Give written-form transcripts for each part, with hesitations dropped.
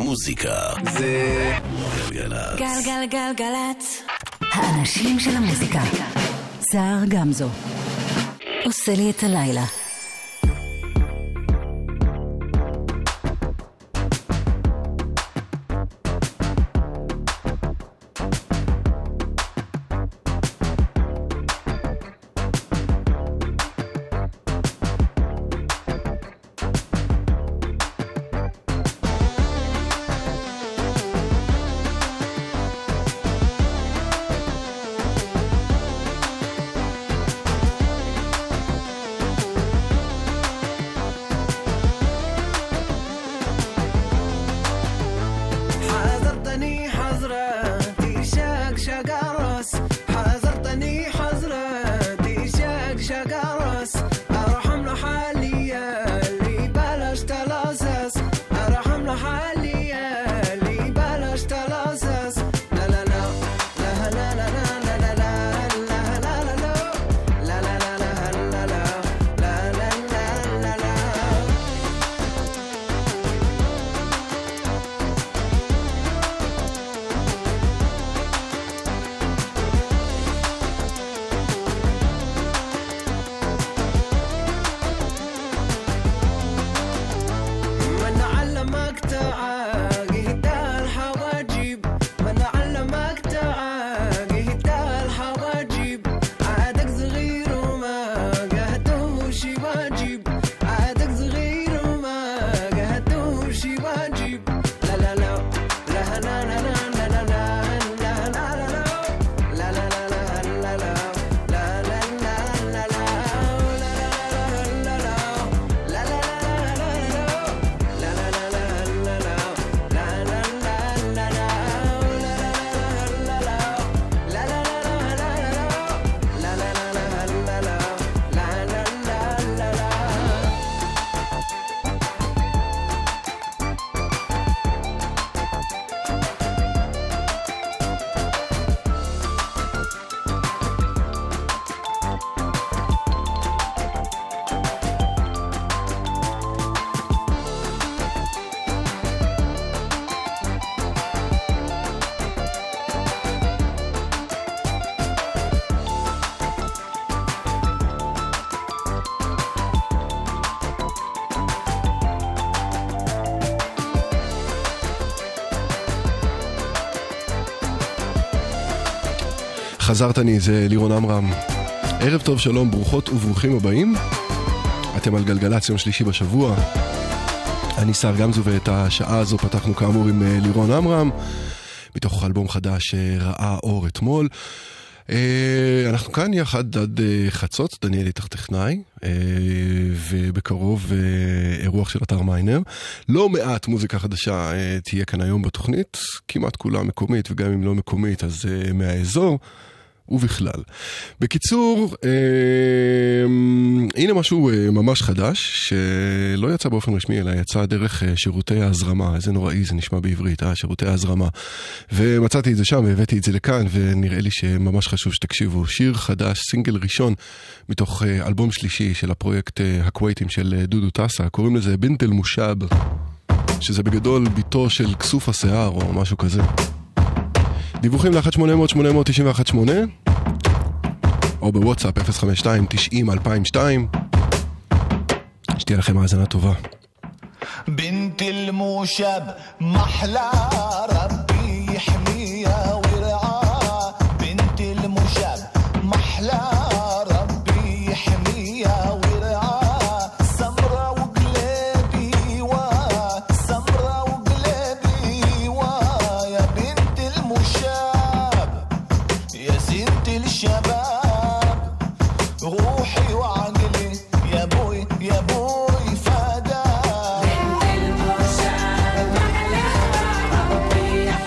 מוזיקה זה גלגלצ. גלגלגלגלצ. האנשים של המוזיקה. סער גמזו עושה לי את הלילה. חזרת אני, זה לירון עמרם. ערב טוב, שלום, ברוכות וברוכים הבאים. אתם על גלגלצ, יום שלישי בשבוע. אני סער גמזו, ואת השעה הזו פתחנו כאמור עם לירון עמרם, מתוך אלבום חדש שראה אור אתמול. אנחנו כאן יחד עד חצות, דניאל איתך טכנאי, ובקרוב אירוח של אתר מיינר. לא מעט מוזיקה חדשה תהיה כאן היום בתוכנית, כמעט כולה מקומית, וגם אם לא מקומית אז מהאזור ובכלל. בקיצור, הנה משהו ממש חדש, שלא יצא באופן רשמי, אלא יצא דרך שירותי ההזרמה. איזה נוראי זה נשמע בעברית, שירותי ההזרמה. ומצאתי את זה שם, והבאתי את זה לכאן, ונראה לי שממש חשוב שתקשיבו. שיר חדש, סינגל ראשון, מתוך אלבום שלישי של הפרויקט הקווייטים של דודו טסה. קוראים לזה בנט אל מושב, שזה בגדול ביתו של כסוף השיער, או משהו כזה. דיווחים ל-1-800-891-8 או בוואטסאפ 052-90-2002. שתהיה לכם האזנה טובה. بنت الموشب محلى ربي يحميها ويرعاها بنت الموشب محلى ربي يحميها ويرعاها سمرة وقلبي سمرة وقلبي يا بنت الموشب يا ست الشباب روحي وعقلي يا بوي يا بوي فدا بنت الموشب محلى ربي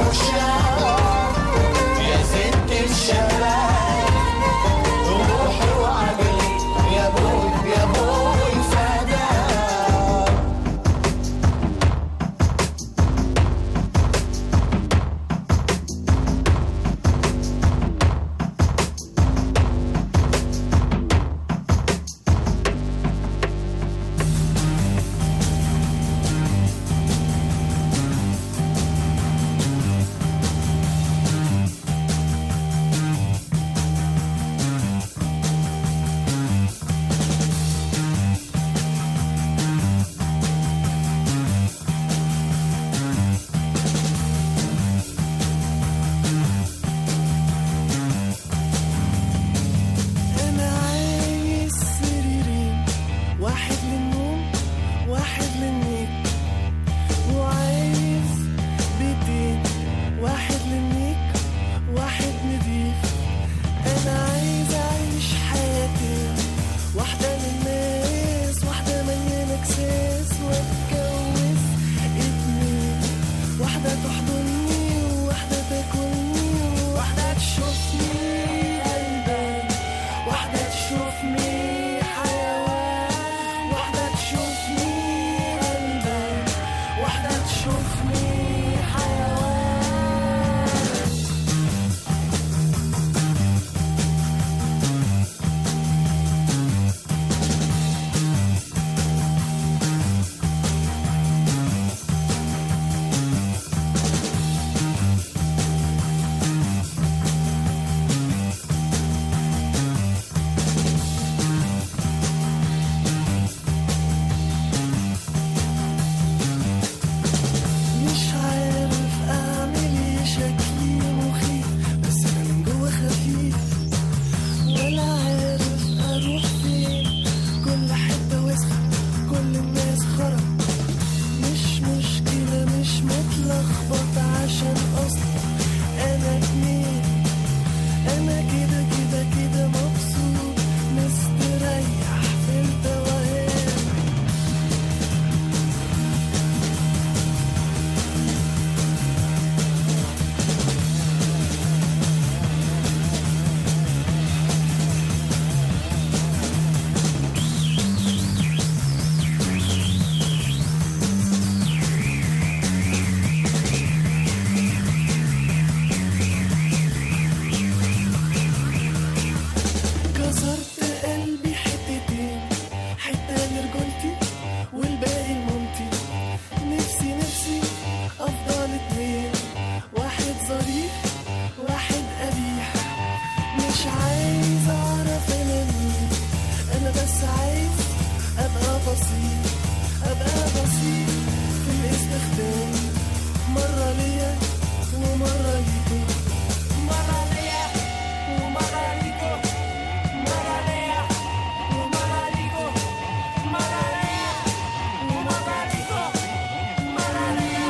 المشاب يا ست الشباب روحي وعقلي يا بوي يا بوي فداك أنا عايز سريرين واحد للنوم واحد للنيك وعايز بيتين واحد للنيك واحد نضيف أنا عايز أعيش حياتي واحدة للناس واحدة مليانة كساس واتجوز اتنين واحدة تحضني وواحدة تاكلني وواحدة تشوفني قلبي واحدة تشوفني حيوان واحدة تشوفني قلبي واحدة تشوفني حيوان مش عارف اعمل ايه شكلي مخيف بس انا من جوه خفيف ولا عارف اروح فين كل حته وسخه كل الناس خرا مش مشكله مش متلخبط عشان اصلا انا اتنين انا كده كده كده مبسوط مستريح في التوهان كسرت قلبي حتتين حتة لرجولتي والباقي لمامتي نفسي أفضل اتنين واحد ظريف واحد قبيح مش عايز أعرف أنا مين أنا بس عايز أبقى بسيط في الاستخدام مرة ليا ومرة ليكو مرة ليا ومرة ليكو مرة ليا ومرة ليكو مرة ليا ومرة ليكو مرة ليا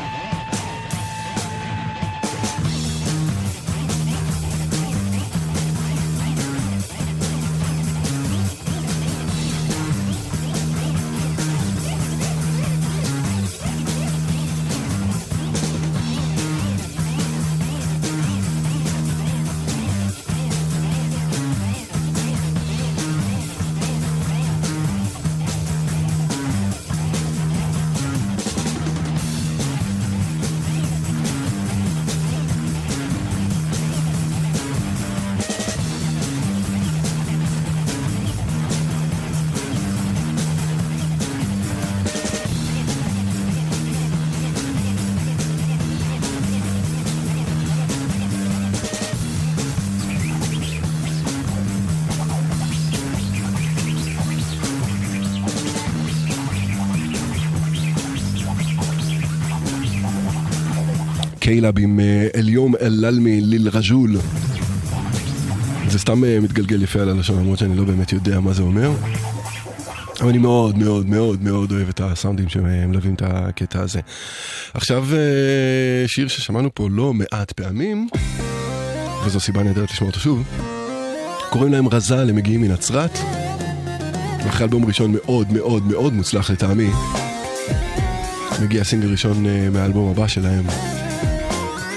קיילאב עם אליום אל-אלמי ליל-רג'ול. זה סתם מתגלגל יפה על הלשון, למרות שאני לא באמת יודע מה זה אומר. אבל אני מאוד מאוד מאוד מאוד אוהב את הסאונדים שמלווים את הקטע הזה. עכשיו שיר ששמענו פה לא מעט פעמים, וזו סיבה נהדרת לשמוע אותו שוב. קוראים להם רזל, הם מגיעים מנצרת. ואחרי אלבום ראשון מאוד מאוד מאוד מוצלח לטעמי, מגיע סינגל ראשון מהאלבום הבא שלהם.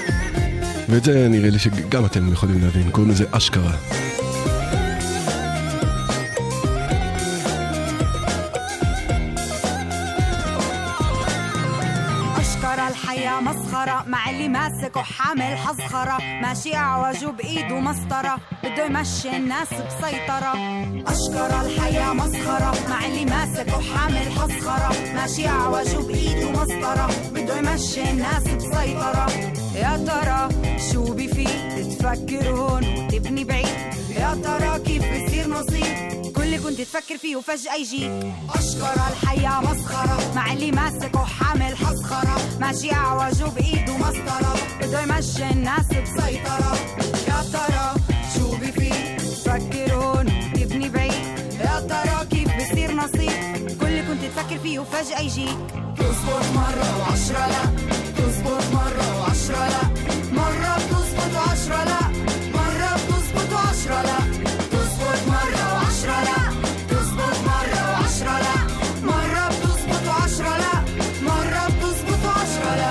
ואת זה נראה לי שגם אתם יכולים להבין, קוראים לזה אשכרה. الحياة مسخرة مع اللي ماسك وحامل حزخرة ماشي أعوجه بإيده مسطرة بده يمشي الناس بسيطرة أشكرا الحياة مسخرة مع اللي ماسك وحامل حزخرة ماشي أعوجه بإيده مسطرة بده يمشي الناس بسيطرة يا ترى شو بفيد تفكر هون وتبني بعيد يا ترى كيف بصير نصيب كل كنت تفكر فيه وفجأة يجيك أشكرا الحياة مسخرة مع اللي ماسك وحامل حزخرة ماشي أعوجه بإيده مسطرة بده يمشي الناس بسيطرة يا ترى شو بفيد تفكر هون وتبني بعيد يا ترى كيف بصير نصيب كل كنت تفكر فيه وفجأة يجيك تزبط مرة وعشرة لا تزبط مرة وعشرة لا مرة بتزبط وعشرة لا مرة بتزبط وعشرة لا تزبط مرة وعشرة لا تزبط مرة وعشرة لا مرة بتزبط وعشرة لا مرة بتزبط وعشرة لا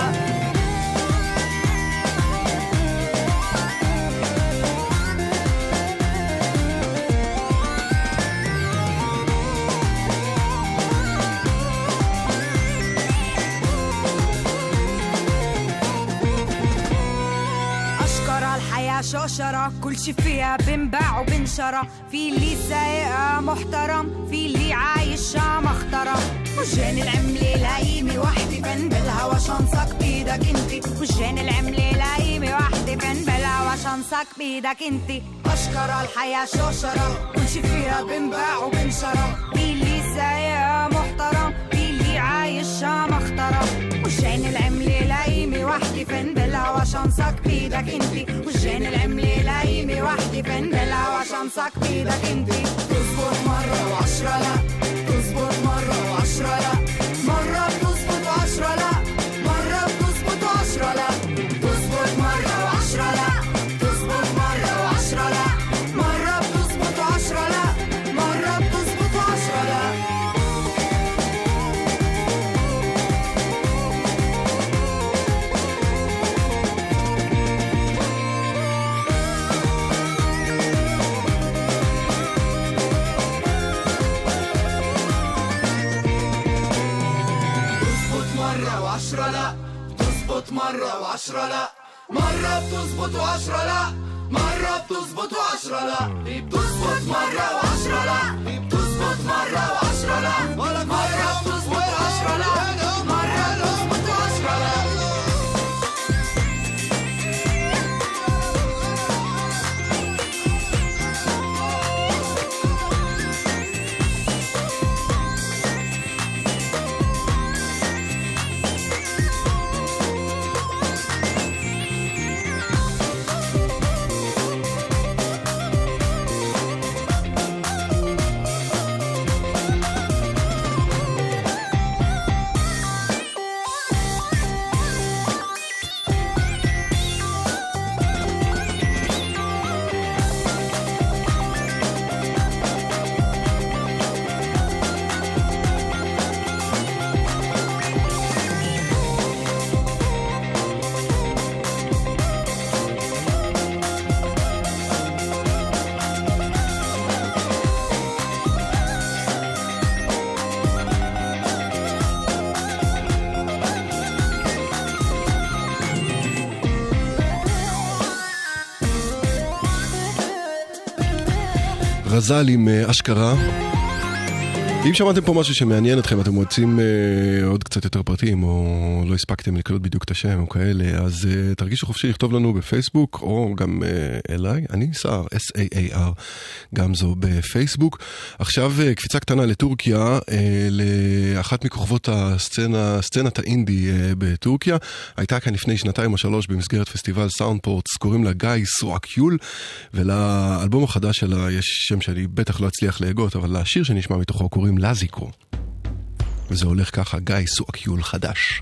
شوشرة كل شي فيها بنباع وبنشرى في اللي سايقها محترم في اللي عايشها مخترم وجان العملة لايمة وحدي فن بالهوا شنصك بيدك انتي وجان العملة لايمة وحدي فن بالهوا شنصك بيدك انتي أشكرا الحياة شوشرة كل شي فيها بنباع وبنشرى في اللي سايقها محترم في اللي عايشها مخترم وجان العملة لايمة وحدي فن بالهوا شنصك بيدك انتي وجان العملة لايمة وحدي فن بالهوا شنصك بيدك انتي تزبط مرة وعشرة لا تزبط مرة وعشرة لا مرة بتزبط وعشرة لا مرة بتزبط وعشرة لا تزبط مرة وعشرة لا تزبط مرة وعشرة لا مرة بتزبط وعشرة لا مرة بتزبط وعشرة لا وعشرة لا بتزبط مرة وعشرة لا مرة بتزبط وعشرة لا مرة بتزبط وعشرة لا بتزبط مرة وعشرة لا بتزبط مرة وعشرة لا مرة بتزبط وعشرة لا مرة بتزبط وعشرة لا רזל עם אשכרה. אם שמעתם פה משהו שמעניין אתכם, אתם רוצים עוד קצת יותר פרטים, או לא הספקתם לקלוט בדיוק את השם או כאלה, אז תרגישו חופשי לכתוב לנו בפייסבוק, או גם אליי, אני סער, S-A-A-R, גם זו בפייסבוק. עכשיו קפיצה קטנה לטורקיה, לאחת מכוכבות סצנת האינדי בטורקיה, הייתה כאן לפני 2 או 3 במסגרת פסטיבל סאונדפורטס, קוראים לה גיא סואקיול, ולאלבום החדש שלה יש שם שאני בטח לא אצליח להגות, אבל לשיר שנשמע מתוכו קוראים לזיקו. וזה הולך ככה, גיא סואקיול חדש.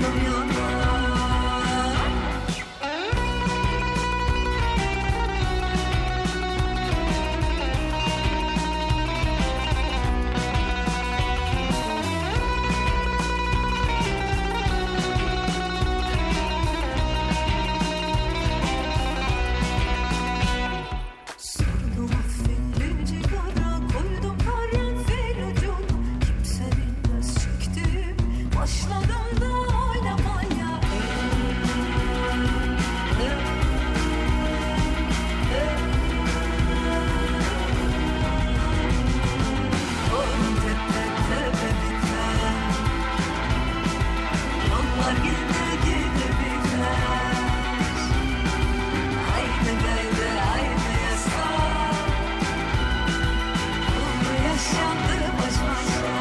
burnum yanar. Sordum affetli cigara, koydum karanfil ucunu. Kimse bilmez çektim, başladım da oynamaya. Oğlum tepe tepe biter, yollar gide gide biter. Haydi gaydi haydi yasa, bunu yaşandı baş başa.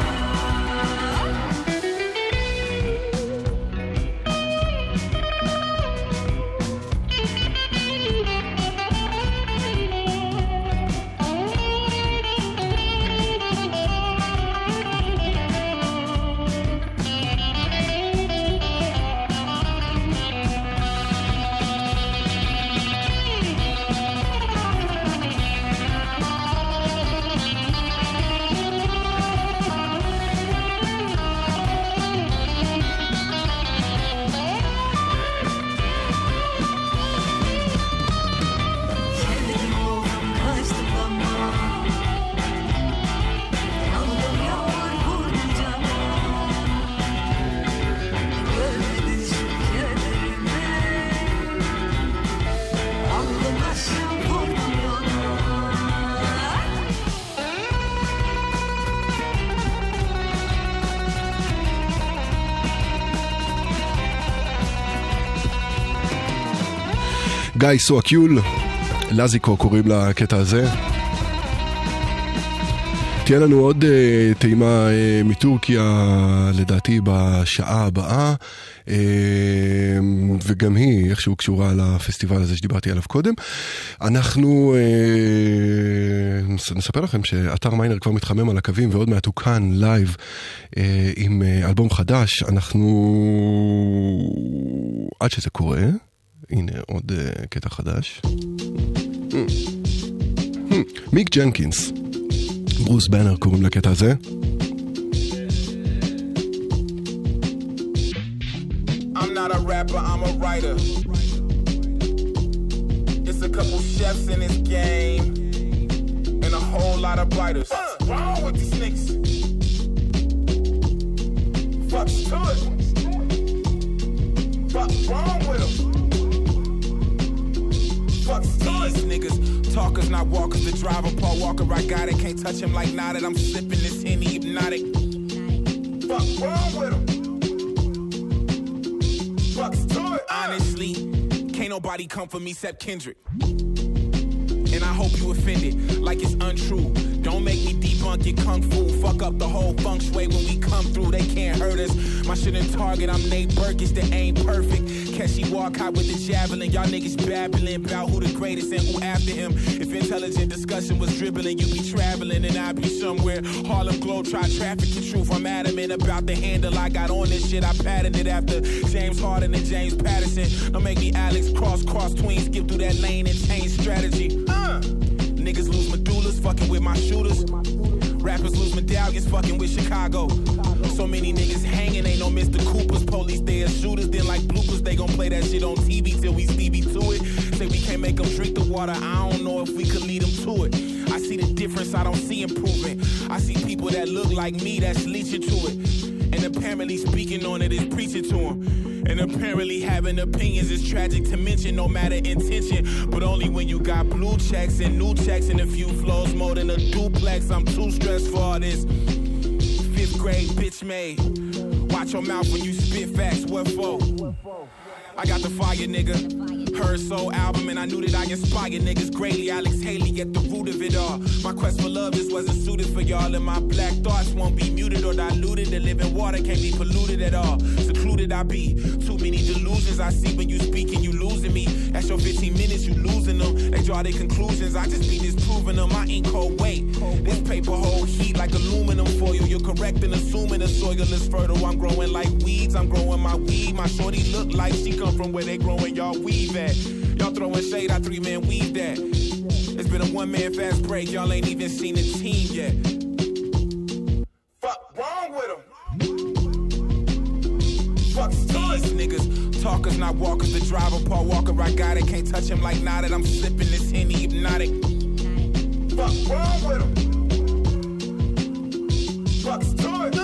Sevdim oldum kaçtım ama, yandım yağmur vurdum cama. Görmedin şu kederimi, aldım başım vurdum yola. גיא סואקיול, לזיקו קוראים לקטע הזה. תהיה לנו עוד טעימה מטורקיה לדעתי בשעה הבאה, וגם היא איכשהו קשורה לפסטיבל הזה שדיברתי עליו קודם. אנחנו נספר לכם שאתר מיינר כבר מתחמם על הקווים ועוד מעט הוא כאן לייב עם אלבום חדש. אנחנו עד שזה קורה, הנה עוד קטע חדש. מיק ג'נקינס, ברוס בנר קוראים לקטע הזה. I'm not a rapper, I'm a writer. It's a couple chefs in this game and a whole lot of writers. What's wrong with these niggas? Fuck's to it. What's wrong with them? Fuck's these niggas. Talkers, not walkers. The driver, Paul Walker, I got it. Can't touch him like Nada. I'm sipping this Henny hypnotic. Fuck wrong with him? Fuck's to it. Honestly, can't nobody come for me except Kendrick. And I hope you offended, like it's untrue. Don't make me debunk your kung fu. Fuck up the whole feng shui when we come through. They can't hurt us. My shit in Target, I'm Nate Burgess, that ain't perfect. Catchy walk out with the javelin. Y'all niggas babbling about who the greatest and who after him. If intelligent discussion was dribbling, you be traveling and I be somewhere. Harlem Glow, try trafficking truth. I'm adamant about the handle I got on this shit. I patterned it after James Harden and James Patterson. Don't make me Alex cross tween, skip through that lane and change strategy. Niggas lose medullas, fucking with my shooters. Rappers lose medallions, fucking with Chicago. So many niggas hanging, ain't no Mr. Coopers. Police, they are shooters, then like bloopers. They gon' play that shit on TV till we Stevie to it. Say we can't make them drink the water, I don't know if we could lead them to it. I see the difference, I don't see improvement. I see people that look like me that's leeching to it. And apparently speaking on it is preaching to them. And apparently having opinions is tragic to mention, no matter intention. But only when you got blue checks and new checks and a few flows more than a duplex. I'm too stressed for all this. 5th grade bitch made. Watch your mouth when you spit facts, what for? I got the fire, nigga. Her soul album, and I knew that I inspired niggas greatly. Alex Haley at the root of it all. My quest for love just wasn't suited for y'all, and my black thoughts won't be muted or diluted. The living water can't be polluted at all. Secluded I be. Too many delusions I see when you speak and you losing me. That's your 15 minutes, you losing them. They draw their conclusions, I just be disproving them. I ain't cold weight. This paper hold heat like aluminum foil. You're correct in assuming the soil is fertile. I'm growing like weeds, I'm growing my weed. My shorty look like she come from where they growing y'all weave at. Y'all throwing shade, I 3-man weave that. It's been a 1-man fast break, y'all ain't even seen the team yet. Fuck wrong with them. Fuck these niggas. Talkers, not walkers. The driver, Paul Walker, I got it. Can't touch him like Nada. I'm sipping this Henny hypnotic. Fuck wrong with him. Fuck's to it,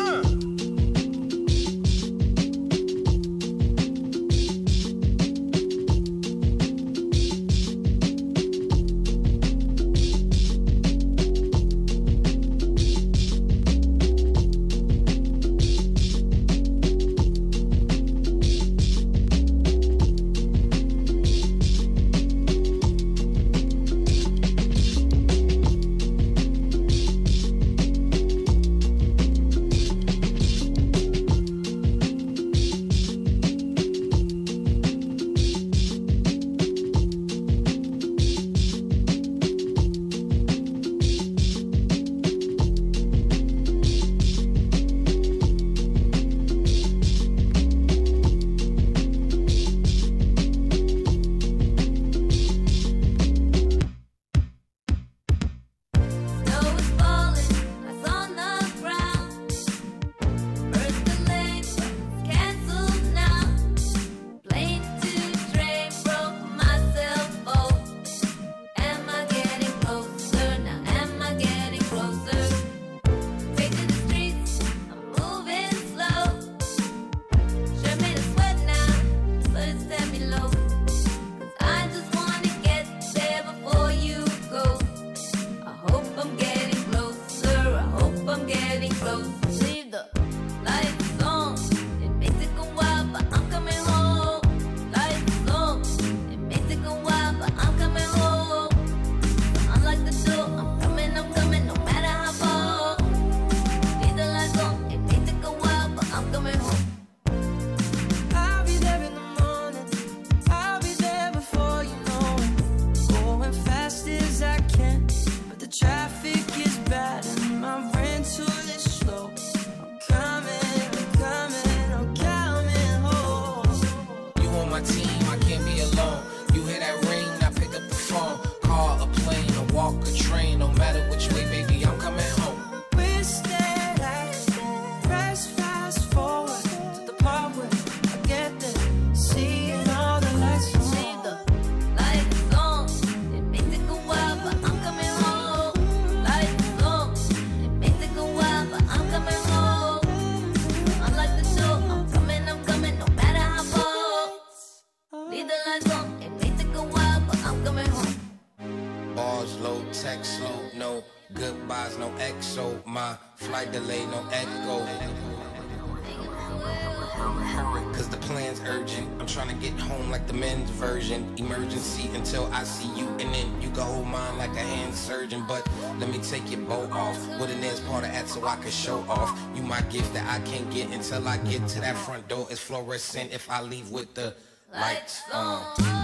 Cause the plan's urgent. I'm trying to get home like the men's version. Emergency until I see you, and then you can hold mine like a hand surgeon. But let me take your bow off with an ass part of that so I can show off. You my gift that I can't get until I get to that front door. It's fluorescent if I leave with the lights on.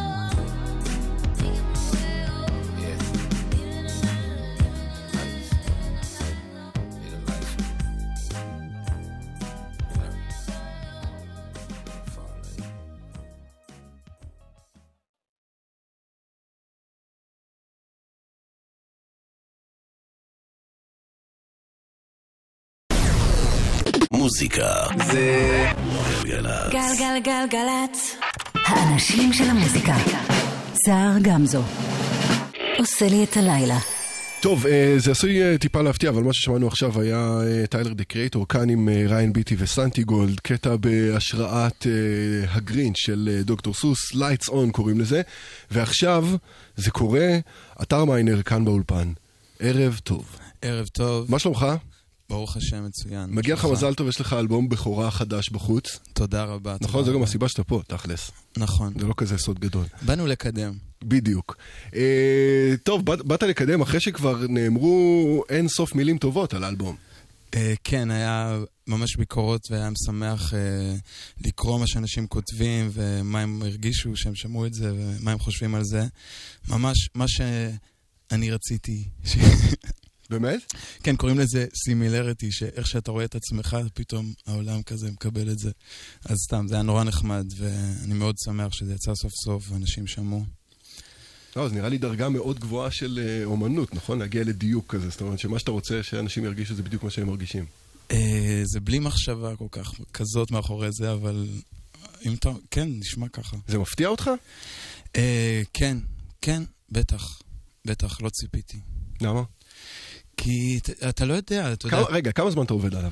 מוזיקה זה גלגלצ. גלגלגלגלצ. האנשים של המוזיקה. סער גמזו. עושה לי את הלילה. טוב, זה עשוי טיפה להפתיע, אבל מה ששמענו עכשיו היה טיילר דה קריאטור, כאן עם ריין ביטי וסנטי גולד, קטע בהשראת הגרינץ' של דוקטור סוס, Lights On קוראים לזה, ועכשיו זה קורה, אתר מיינר כאן באולפן. ערב טוב. ערב טוב. מה שלומך? ברוך השם מצוין. מגיע לך מזל טוב, יש לך אלבום בכורה חדש בחוץ. תודה רבה. נכון, זה גם הסיבה שאתה פה, תכלס. נכון. זה לא כזה סוד גדול. באנו לקדם. בדיוק. טוב, באת לקדם אחרי שכבר נאמרו אין סוף מילים טובות על האלבום. כן, היה ממש ביקורות והיה משמח לקרוא מה שאנשים כותבים ומה הם הרגישו שהם שמעו את זה ומה הם חושבים על זה. ממש מה שאני רציתי. באמת? כן, קוראים לזה סימילריטי, שאיך שאתה רואה את עצמך, פתאום העולם כזה מקבל את זה. אז סתם, זה היה נורא נחמד, ואני מאוד שמח שזה יצא סוף סוף, ואנשים שמעו. לא, אז נראה לי דרגה מאוד גבוהה של אומנות, נכון? להגיע לדיוק כזה, זאת אומרת שמה שאתה רוצה שאנשים ירגישו זה בדיוק מה שהם מרגישים. זה בלי מחשבה כל כך כזאת מאחורי זה, אבל אם אתה, כן, נשמע ככה. זה מפתיע אותך? כן, כן, בטח, לא ציפיתי. למה? כי אתה לא יודע, אתה יודע... רגע, כמה זמן אתה עובד עליו?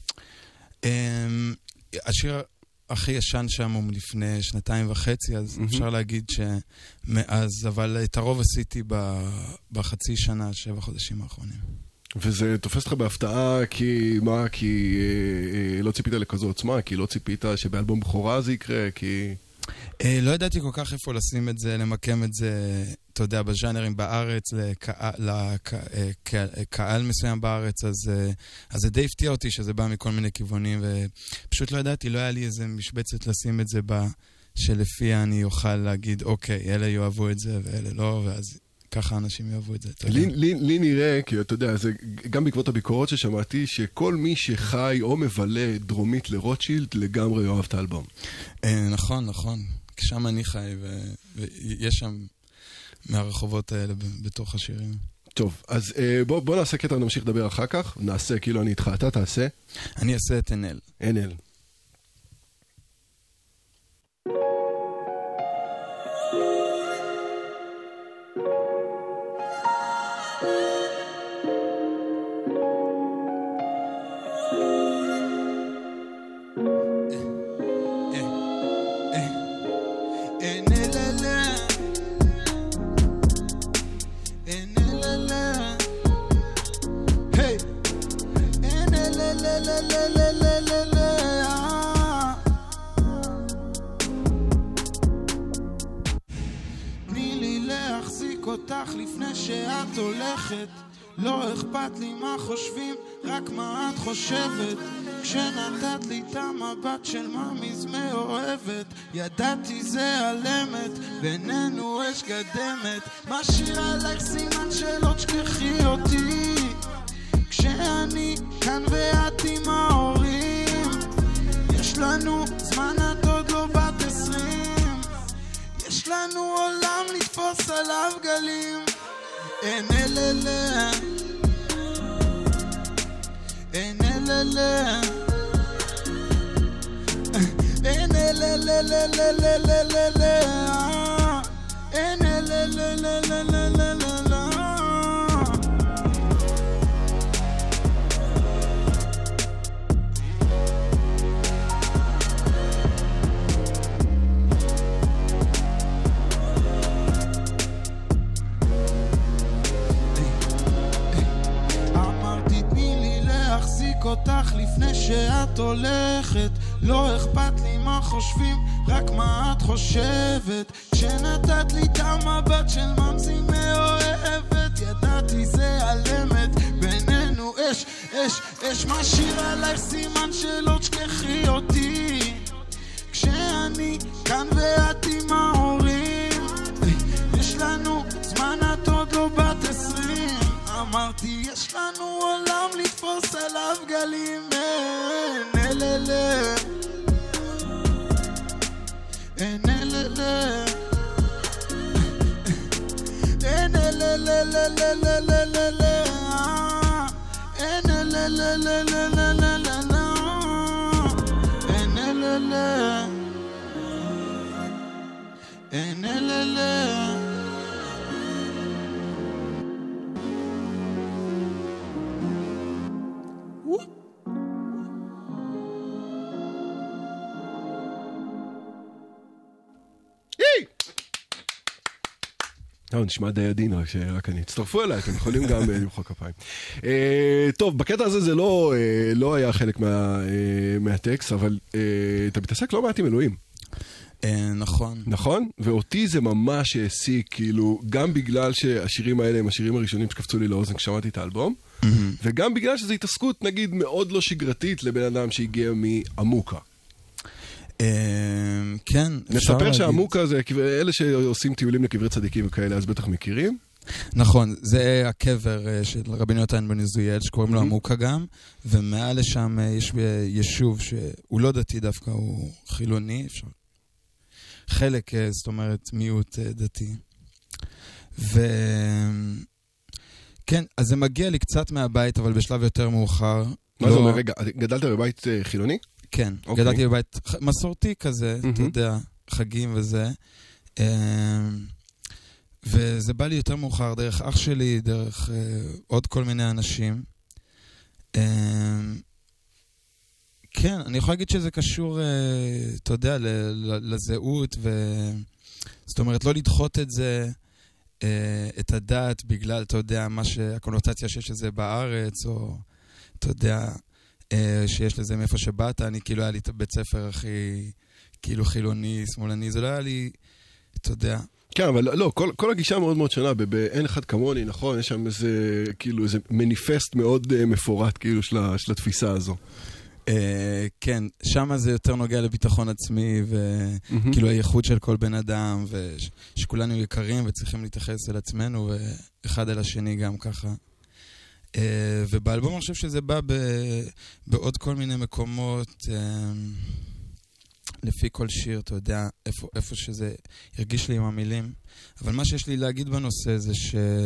השיר הכי ישן שם הוא מלפני 2.5, אז אפשר להגיד שמאז, אבל את הרוב עשיתי בחצי שנה, 7 חודשים האחרונים. וזה תופס אותך בהפתעה, כי מה? כי לא ציפית לכזו עוצמה? כי לא ציפית שבאלבום בכורה זה יקרה? כי... לא ידעתי כל כך איפה לשים את זה, למקם את זה, אתה יודע, בז'אנרים בארץ, לקהל מסוים בארץ, אז זה די הפתיע אותי שזה בא מכל מיני כיוונים, ופשוט לא ידעתי, לא היה לי איזה משבצת לשים את זה שלפיה אני אוכל להגיד, אוקיי, אלה יאהבו את זה ואלה לא, ואז ככה אנשים יאהבו את זה. לי נראה, כי אתה יודע, זה גם בעקבות הביקורות ששמעתי, שכל מי שחי או מבלה דרומית לרוטשילד לגמרי יאהב את האלבום. נכון. שם אני חי, ויש שם מהרחובות האלה בתוך השירים. טוב, אז בוא נעשה קטע ונמשיך לדבר אחר כך. נעשה, כאילו אני איתך, אתה תעשה. אני אעשה את NL. NL. לא אכפת לי מה חושבים, רק מה את חושבת. כשנתת לי את המבט של ממי מאוהבת, ידעתי זה על אמת, בינינו אש גדמת. משאיר עלייך סימן שלא תשכחי אותי, כשאני כאן ואת עם ההורים. יש לנו זמן, את עוד לא בת 20, יש לנו עולם לתפוס עליו גלים. אין אלה אין אלה אין אותך לפני שאת הולכת, לא אכפת לי מה חושבים, רק מה את חושבת. כשנתת לי את המבט של ממזי מאוהבת, ידעתי זה על אמת, בינינו אש, אש, אש. משאיר עלייך סימן שלא תשכחי אותי, כשאני כאן ואת עם ההורים. יש לנו זמן, את עוד לא בת 20, אמרתי יש לנו עולם לתפוס עליו גלים. אין אלה אין אלה אין אלה אין אלה אין אלה. נשמע די עדין, רק אני. תצטרפו אליי, אתם יכולים גם למחוא כפיים. טוב, בקטע הזה זה לא היה חלק מהטקסט, אבל אתה מתעסק לא מעט עם אלוהים. נכון. נכון? ואותי זה ממש העסיק, כאילו, גם בגלל שהשירים האלה הם השירים הראשונים שקפצו לי לאוזן כששמעתי את האלבום, וגם בגלל שזו התעסקות, נגיד, מאוד לא שגרתית לבן אדם שהגיע מעמוקה. כן. נספר שהעמוקה זה, אלה שעושים טיולים לקברי צדיקים וכאלה, אז בטח מכירים. נכון, זה הקבר של רבי יונתן בן עזריאל, שקוראים לו עמוקה גם, ומעל לשם יש יישוב שהוא לא דתי דווקא, הוא חילוני, אפשר. חלק, זאת אומרת, מיעוט דתי. כן, אז זה מגיע לי קצת מהבית, אבל בשלב יותר מאוחר. מה זה אומר? רגע, גדלת בבית חילוני? כן, גדלתי בבית מסורתי כזה, אתה יודע, חגים וזה. וזה בא לי יותר מאוחר, דרך אח שלי, דרך עוד כל מיני אנשים. כן, אני יכול להגיד שזה קשור, אתה יודע, לזהות, זאת אומרת, לא לדחות את זה, את הדת, בגלל, אתה יודע, הקונוטציה שיש לזה בארץ, או, אתה יודע, שיש לזה מאיפה שבאת, אני כאילו היה לי את הבית ספר הכי, כאילו חילוני, שמאלני, זה לא היה לי, אתה יודע. כן, אבל לא, כל הגישה מאוד מאוד שונה, באין אחד כמוני, נכון, יש שם איזה, כאילו, איזה מניפסט מאוד מפורט, כאילו, של התפיסה הזו. כן, שם זה יותר נוגע לביטחון עצמי, וכאילו הייחוד של כל בן אדם, ושכולנו יקרים וצריכים להתייחס אל עצמנו, ואחד אל השני גם ככה. ובאלבום אני חושב שזה בא בעוד כל מיני מקומות, לפי כל שיר, אתה יודע, איפה שזה הרגיש לי עם המילים. אבל מה שיש לי להגיד בנושא זה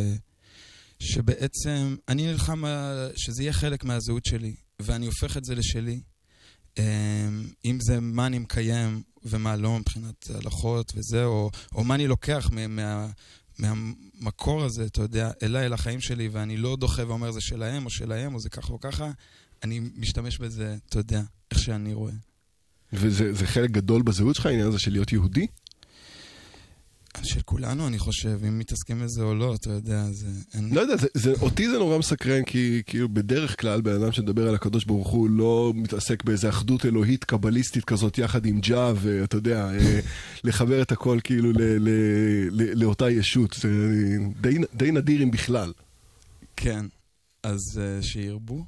שבעצם אני נלחם שזה יהיה חלק מהזהות שלי, ואני הופך את זה לשלי. אם זה מה אני מקיים ומה לא מבחינת הלכות וזה, או מה אני לוקח מהמקור הזה, אתה יודע, אל החיים שלי, ואני לא דוחה ואומר זה שלהם או שלהם, או זה ככה או ככה, אני משתמש בזה, אתה יודע, איך שאני רואה. וזה חלק גדול בזהות שלך, העניין הזה של להיות יהודי? של כולנו, אני חושב, אם מתעסקים בזה או לא, אתה יודע, זה... לא יודע, אותי זה נורא מסקרן, כי כאילו בדרך כלל, בן אדם שמדבר על הקדוש ברוך הוא, לא מתעסק באיזו אחדות אלוהית קבליסטית כזאת, יחד עם ג'ה, ואתה יודע, לחבר את הכל כאילו לאותה ישות. זה די נדיר אם בכלל. כן, אז שירבו.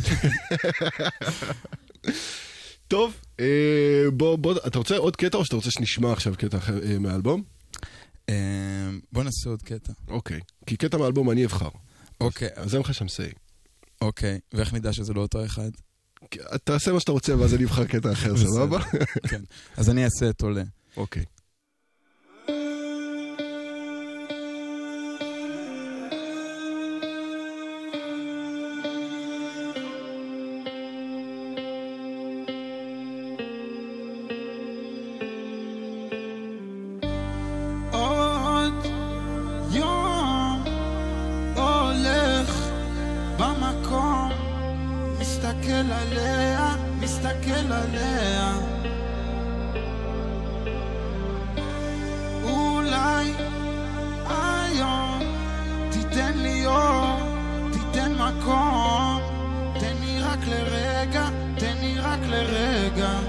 טוב, בוא, אתה רוצה עוד קטע או שאתה רוצה שנשמע עכשיו קטע מהאלבום? בוא נעשה עוד קטע. אוקיי, כי קטע מהאלבום אני אבחר. אוקיי. אז אין לך שם סי. אוקיי, ואיך נדע שזה לא אותו אחד? תעשה מה שאתה רוצה ואז אני אבחר קטע אחר, סבבה? כן, אז אני אעשה את עולה. אוקיי. מסתכל עליה אולי היום תיתן לי אור, תיתן מקום, תן לי רק לרגע, תן לי רק לרגע.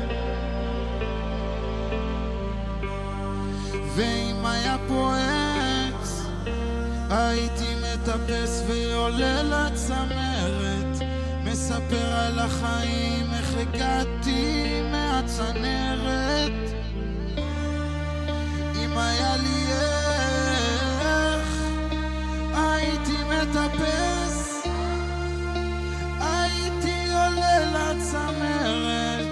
ואם היה פה עץ הייתי מטפס ועולה לצמרת, מספר על החיים, איך הגעתי מהצנרת. אם היה לי איך הייתי מטפס, הייתי עולה לצמרת.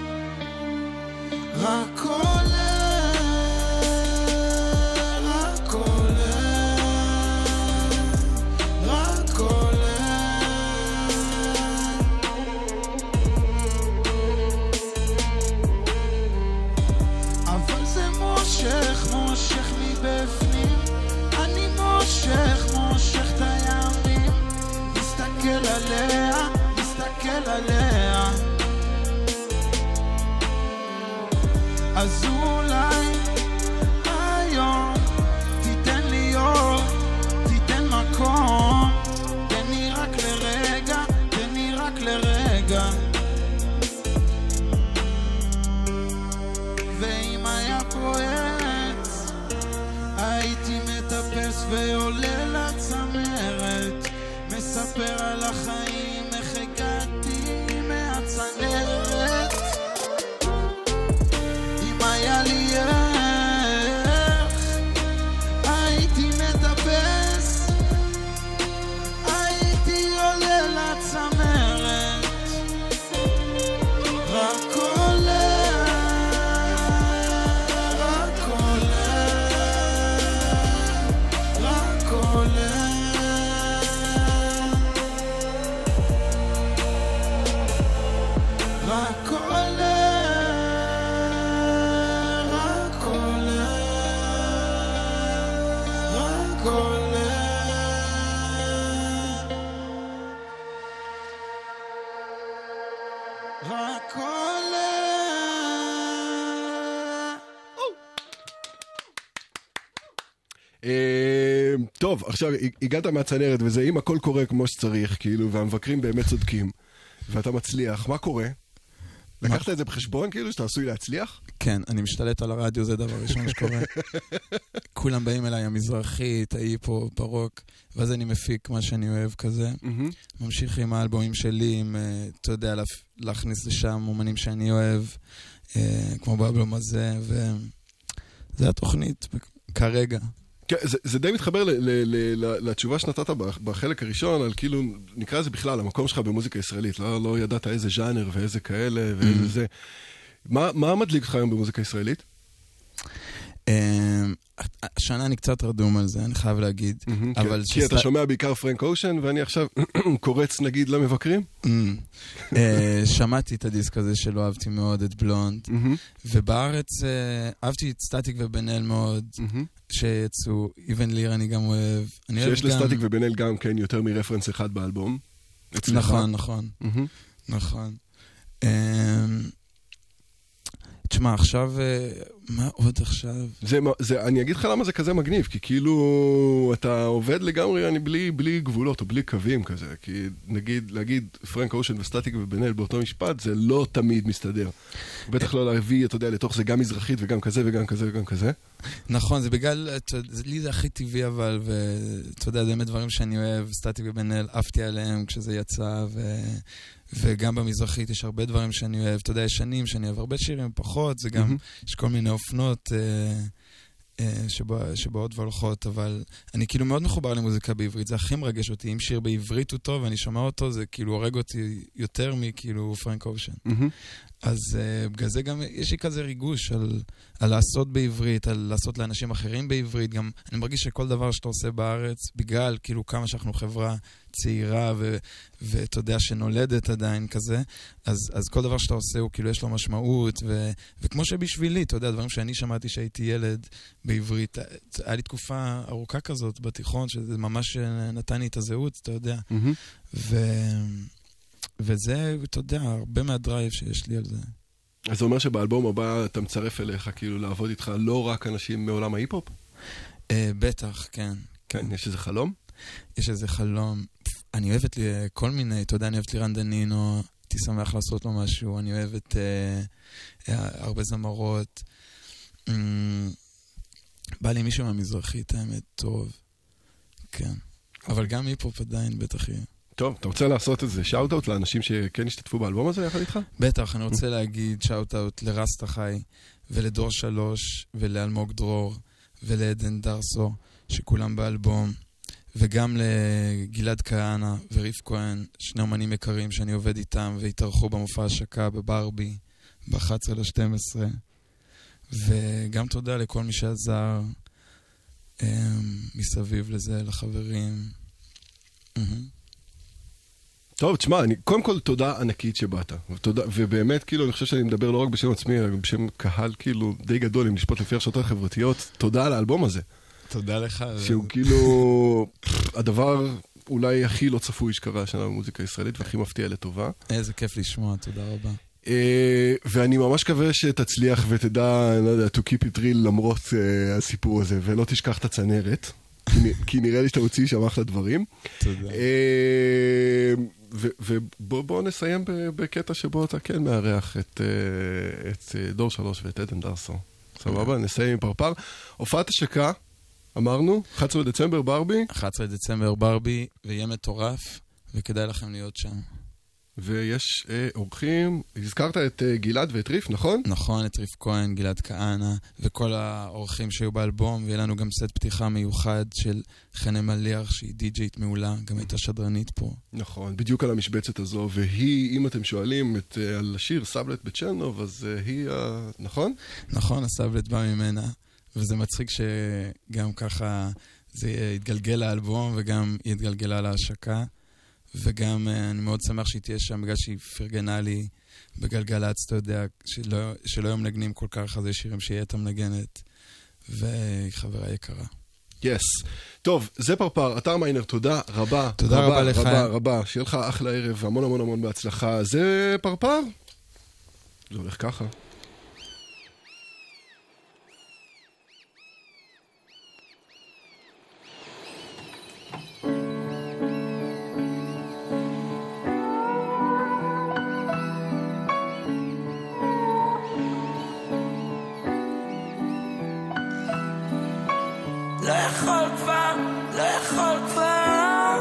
רק עולה, רק עולה, רק עולה. מושך מבפנים, אני מושך את הימים. מסתכל עליה, מסתכל עליה. אז אולי היום תיתן לי אור, ועולה לצמרת, מספר על החיים, איך הגעתי מהצנרת. אם היה לי איך, הייתי מטפס, הייתי עולה לצמרת, רק עולה, רק עולה, רק עולה, רק עולה, רק עולה, רק עולה. רק עולה. טוב, עכשיו הגעת מהצנרת וזה, אם הכל קורה כמו שצריך, כאילו, והמבקרים באמת צודקים, ואתה מצליח, מה קורה? לקחת את זה בחשבון, כאילו, שאתה עשוי להצליח? כן, אני משתלט על הרדיו, זה דבר ראשון שקורה. כולם באים אליי, המזרחית, ההיפו, ברוק, ואז אני מפיק מה שאני אוהב כזה. ממשיך עם האלבומים שלי, עם, אתה יודע, להכניס לשם אומנים שאני אוהב, כמו באלבום הזה, וזה התוכנית כרגע. כן, זה די מתחבר לתשובה שנתת בחלק הראשון, על כאילו, נקרא לזה בכלל, המקום שלך במוזיקה ישראלית, לא ידעת איזה ז'אנר ואיזה כאלה ואיזה זה. מה מדליק לך היום במוזיקה ישראלית? השנה אני קצת רדום על זה, אני חייב להגיד. כי אתה שומע בעיקר פרנק אושן, ואני עכשיו קורץ נגיד למבקרים? שמעתי את הדיסק הזה שלא אהבתי מאוד, את בלונד, ובארץ אהבתי את סטטיק ובן אל מאוד, שיצאו, איבן ליר אני גם אוהב. שיש לסטטיק ובן אל גם כן יותר מרפרנס אחד באלבום. נכון, נכון. תשמע, עכשיו, מה עוד עכשיו? אני אגיד לך למה זה כזה מגניב, כי כאילו אתה עובד לגמרי בלי גבולות או בלי קווים כזה, כי נגיד, להגיד פרנק אושן וסטטיק ובן אל באותו משפט, זה לא תמיד מסתדר. בטח לא להביא, אתה יודע, לתוך זה גם מזרחית וגם כזה וגם כזה וגם כזה. נכון, זה בגלל, לי זה הכי טבעי אבל, ואתה יודע, זה באמת דברים שאני אוהב, סטטיק ובן אל, עפתי עליהם כשזה יצא, וגם במזרחית יש הרבה דברים שאני אוהב, אתה יודע, יש שנים שאני אוהב הרבה שירים, פחות, זה גם, יש כל מיני אופנות שבאות והולכות, אבל אני כאילו מאוד מחובר למוזיקה בעברית, זה הכי מרגש אותי, אם שיר בעברית הוא טוב ואני שומע אותו, זה כאילו הורג אותי יותר מכאילו פרנק אושן. אז בגלל זה גם יש לי כזה ריגוש על לעשות בעברית, על לעשות לאנשים אחרים בעברית, גם אני מרגיש שכל דבר שאתה עושה בארץ, בגלל כאילו כמה שאנחנו חברה צעירה ואתה יודע שנולדת עדיין כזה, אז כל דבר שאתה עושה הוא כאילו יש לו משמעות, וכמו שבשבילי, אתה יודע, דברים שאני שמעתי שהייתי ילד בעברית, היה לי תקופה ארוכה כזאת בתיכון, שזה ממש נתן לי את הזהות, אתה יודע. וזה, אתה יודע, הרבה מהדרייב שיש לי על זה. אז זה אומר שבאלבום הבא אתה מצרף אליך, כאילו לעבוד איתך לא רק אנשים מעולם ההיפ-הופ? בטח, כן. כן, יש איזה חלום? יש איזה חלום. אני אוהבת לי כל מיני, אתה יודע, אני אוהבת לי רנדנינו, הייתי שמח לעשות לו משהו, אני אוהבת הרבה זמרות. בא לי מישהו מהמזרחית, האמת, טוב. כן. אבל גם היפ-הופ עדיין בטח יהיה. טוב, אתה רוצה לעשות איזה שאוט-אוט לאנשים שכן השתתפו באלבום הזה יחד איתך? בטח, אני רוצה להגיד שאוט-אוט לרסטה חי, ולדור 3, ולאלמוג דרור, ולעדן דרסו, שכולם באלבום, וגם לגלעד כהנה וריף כהן, שני אומנים יקרים שאני עובד איתם, והתארחו במופע השקה בברבי, ב-11/12, וגם תודה לכל מי שעזר מסביב לזה, לחברים. טוב, תשמע, קודם כל תודה ענקית שבאת, ובאמת, כאילו, אני חושב שאני מדבר לא רק בשם עצמי, אלא בשם קהל, כאילו, די גדול, אם לשפוט לפי הרשתות החברתיות, תודה על האלבום הזה. תודה לך. שהוא כאילו, הדבר אולי הכי לא צפוי שקרה השנה במוזיקה הישראלית, והכי מפתיע לטובה. איזה כיף לשמוע, תודה רבה. ואני ממש מקווה שתצליח ותדע, לא יודע, to keep it real למרות הסיפור הזה, ולא תשכח את הצנרת, כי נראה לי שאתה מוציא שם אחלה דברים. תודה. ובואו נסיים בקטע שבו אתה כן מארח את דור 3 ואת עדן דרסו. סבבה, נסיים עם פרפר. הופעת השקה, אמרנו, 11 דצמבר ברבי. 11 דצמבר ברבי, ויהיה מטורף, וכדאי לכם להיות שם. ויש אורחים, הזכרת את גלעד ואת ריף, נכון? נכון, את ריף כהן, גלעד כהנא, וכל האורחים שהיו באלבום, ויהיה לנו גם סט פתיחה מיוחד של חנה מליח, שהיא די-ג'יית מעולה, גם הייתה שדרנית פה. נכון, בדיוק על המשבצת הזו, והיא, אם אתם שואלים על השיר סבלט בצ'רנוב, אז היא, נכון? נכון, הסבלט בא ממנה, וזה מצחיק שגם ככה זה יתגלגל לאלבום, וגם יתגלגלה להשקה. וגם אני מאוד שמח שהיא תהיה שם, בגלל שהיא פרגנה לי בגלגלצ, אתה יודע, שלא יום נגנים כל כך, אז יש שירים שהיא הייתה מנגנת, והיא חברה יקרה. יס. טוב, זה פרפר, אתר מיינר, תודה רבה. תודה רבה לך. רבה. שיהיה לך אחלה ערב, המון המון המון בהצלחה. זה פרפר? זה הולך ככה. לא יכול כבר, לא יכול כבר,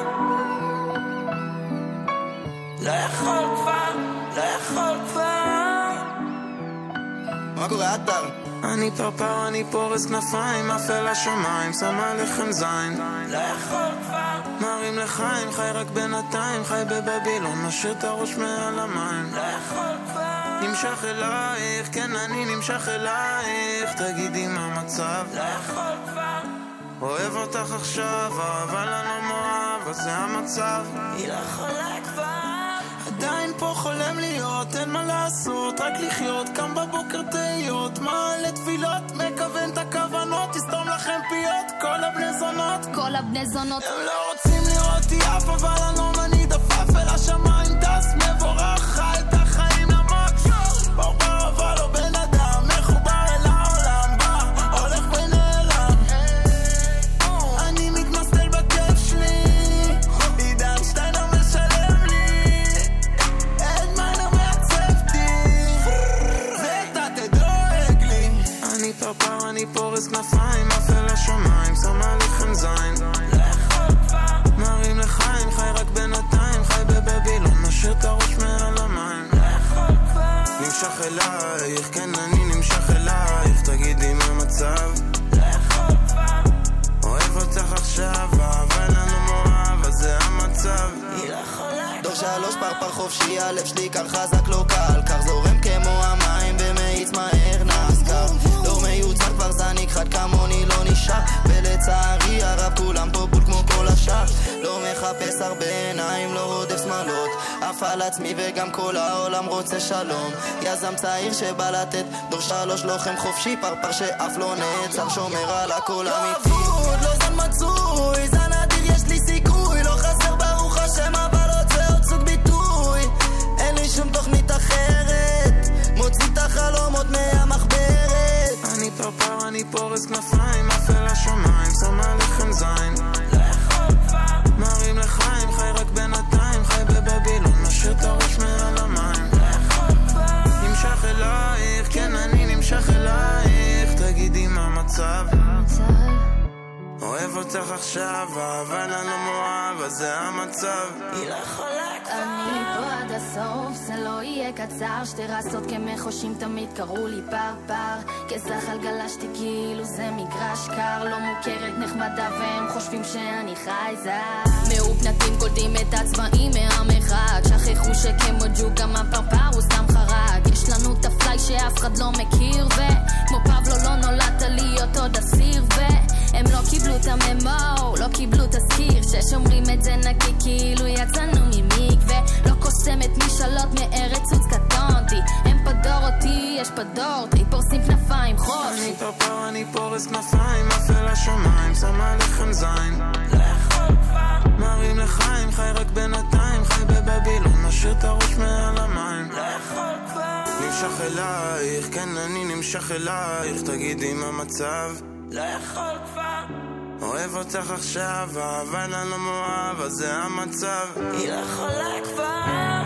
לא יכול כבר, לא יכול כבר. מה קורה אתר? אני פרפר, אני פורס כנפיים, אפל השמיים, שמה לכם זין. לא יכול כבר, מרים לחיים, חי רק בינתיים, חי בבבילון, משאיר את הראש מעל המים. לא יכול כבר, נמשך אלייך, כן אני נמשך אלייך, תגידי מה המצב. לא יכול כבר, אוהב אותך עכשיו, אבל אני לא מאוהב, אז זה המצב. היא לא יכולה כבר, עדיין פה חולם להיות, אין מה לעשות, רק לחיות, קם בבוקר תהיות, מעלה תפילות, מכוון את הכוונות, תסתום לכם פיות, כל הבני זונות, כל הבני זונות. הם לא רוצים לראות יף, אבל אני אני דפף אל השמיים, טס מבורך, חי את החיים למק, ברבר אבל לא בן אדם, מחובר אל העולם, בא, הולך ונעלם. אני מתמסטל בכיף שלי, עידן שטיינר משלם לי, את מיינר מעצבתי, ואתה תדואג לי. אני פרפר, אני פורס כנפיים, אפל השמיים, שמה לכם זין. מרים לחיים, חי רק בינתיים, חי בבבילון, משאיר את הראש מעל המים. נמשך אלייך, כן אני נמשך אלייך, תגידי מה המצב. אוהב אותך עכשיו, אבל אני מאוהב, אז זה המצב. דור 3 פרפר חופשי, הלב שלי קר חזק לא קל, קר זורם כמו המים ומאיץ מהר נזכר. לא מיוצר כבר זניק חד כמוני לא נשאר, ולצערי הרב כולם פה בול כמו כל השאר. לא מחפש הרבה עיניים, לא רודף שמאלות, אף על עצמי וגם כל העולם רוצה שלום. יזם צעיר שבא לתת, דור 3 לוחם חופשי, פרפר שאף לא נעצר, שומר על הכל אמיתי. לא אבוד, לא זן מצוי, זן אדיר יש לי סיכוי, לא חסר ברוך השם אבל רוצה עוד סוג ביטוי. אין לי שום תוכנית אחרת, מוציא את החלומות מהמחברת. אני פרפר, אני פורס כנפיים, אפל השמיים, שמה לכם זין. מרים לחיים, חי רק בינתיים, חי בבבילון, משאיר את הראש מעל המים. נמשך אלייך, כן אני נמשך אלייך, תגידי מה המצב. אוהב אותך עכשיו, אבל אני לא מאוהב, אז זה המצב. היא לא יכולה כבר, אני פה עד הסוף, זה לא יהיה קצר, שתי רסות כמחושים תמיד קראו לי פרפר, כזחל גלשתי כאילו זה מגרש קר, לא מוכרת נחמדה והם חושבים שאני חייזר. מאופנתים קולטים את הצבעים מהמרחק, שכחו שכמו ג'וק גם הפרפר הוא סתם חרק. יש לנו את הפליי שאף אחד לא מכיר, וכמו פבלו לא נולדת להיות עוד אסיר, והם לא קיבלו את הממו, לא קיבלו תזכיר, ששומרים את זה נקי כאילו יצאנו ממקווה, לא קוסמת משאלות מארץ עוץ קטונתי, הם פדור אותי, יש פדורתי, פורסים כנפיים חופשי. אני פרפר, אני פורס כנפיים, אפל השמיים, שמה לכם זין. מרים לחיים, חי רק בינתיים, חי בבבילון, משאיר את הראש מעל המים. נמשך אלייך, כן אני נמשך אלייך, תגידי מה המצב. לא יכול כבר, אוהב אותך עכשיו, אבל אני לא מאוהב, אז זה המצב. היא לא יכולה כבר.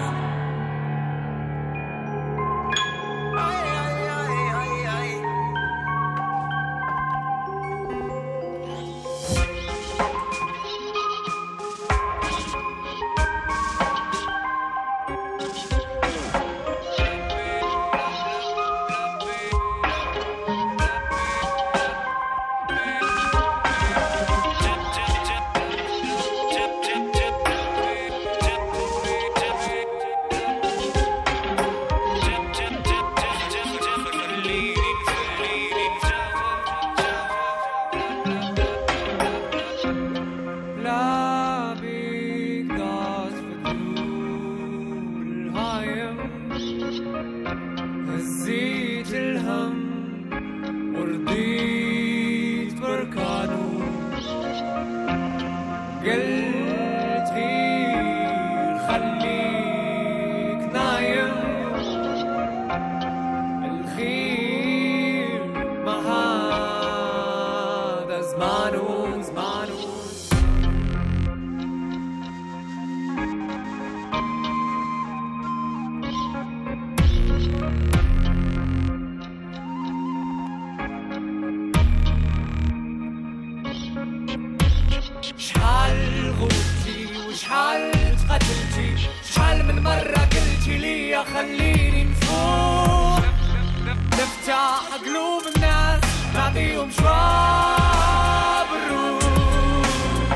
شحال غوتي وشحال تقتلتي شحال من مرة قلتي لي خليني نفوق نفتح قلوب الناس نعطيهم شواب الروح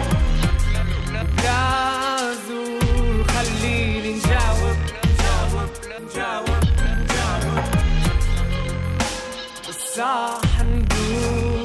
لا زول خليني نجاوب بالصح ندور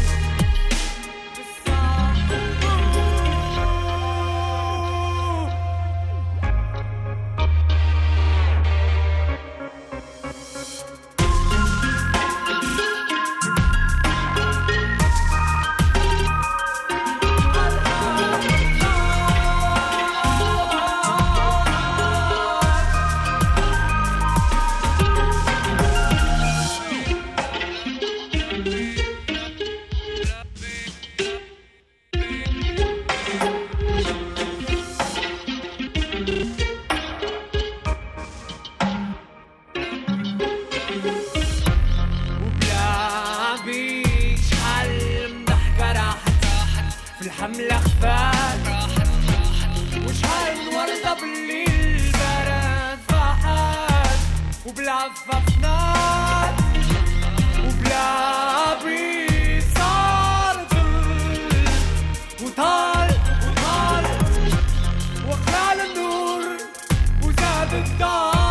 الحملة خفات وشحال وردة بالليل برد فاحات وبالعفة فنات وبلا بريد صار ظل وطال وقلال النور وزاد الدار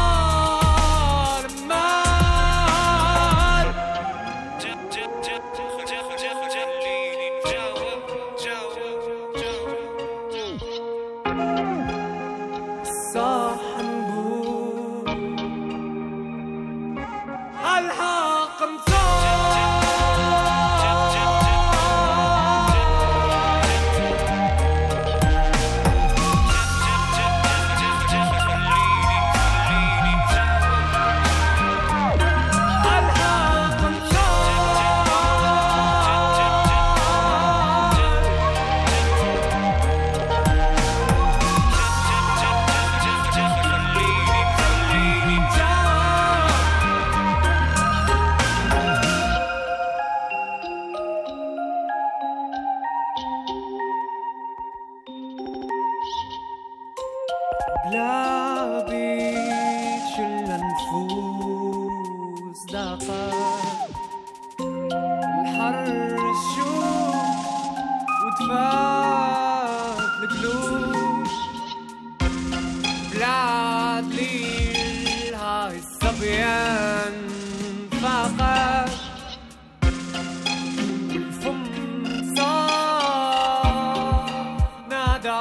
بلا بيت شل نفوس ضاقت الحر الشوق ودفات القلوب بلا دليل هاي الصبيان فقط والفم صار نادى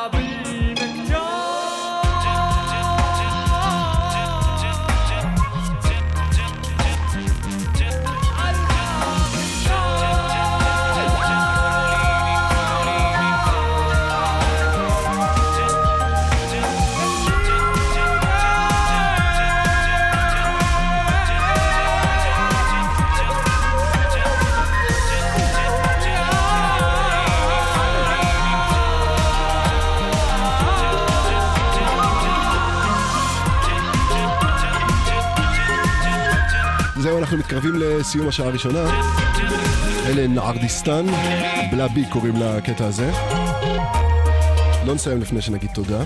זהו, אנחנו מתקרבים לסיום השעה הראשונה. אלה נערדיסטן, בלה בי קוראים לקטע הזה. לא נסיים לפני שנגיד תודה.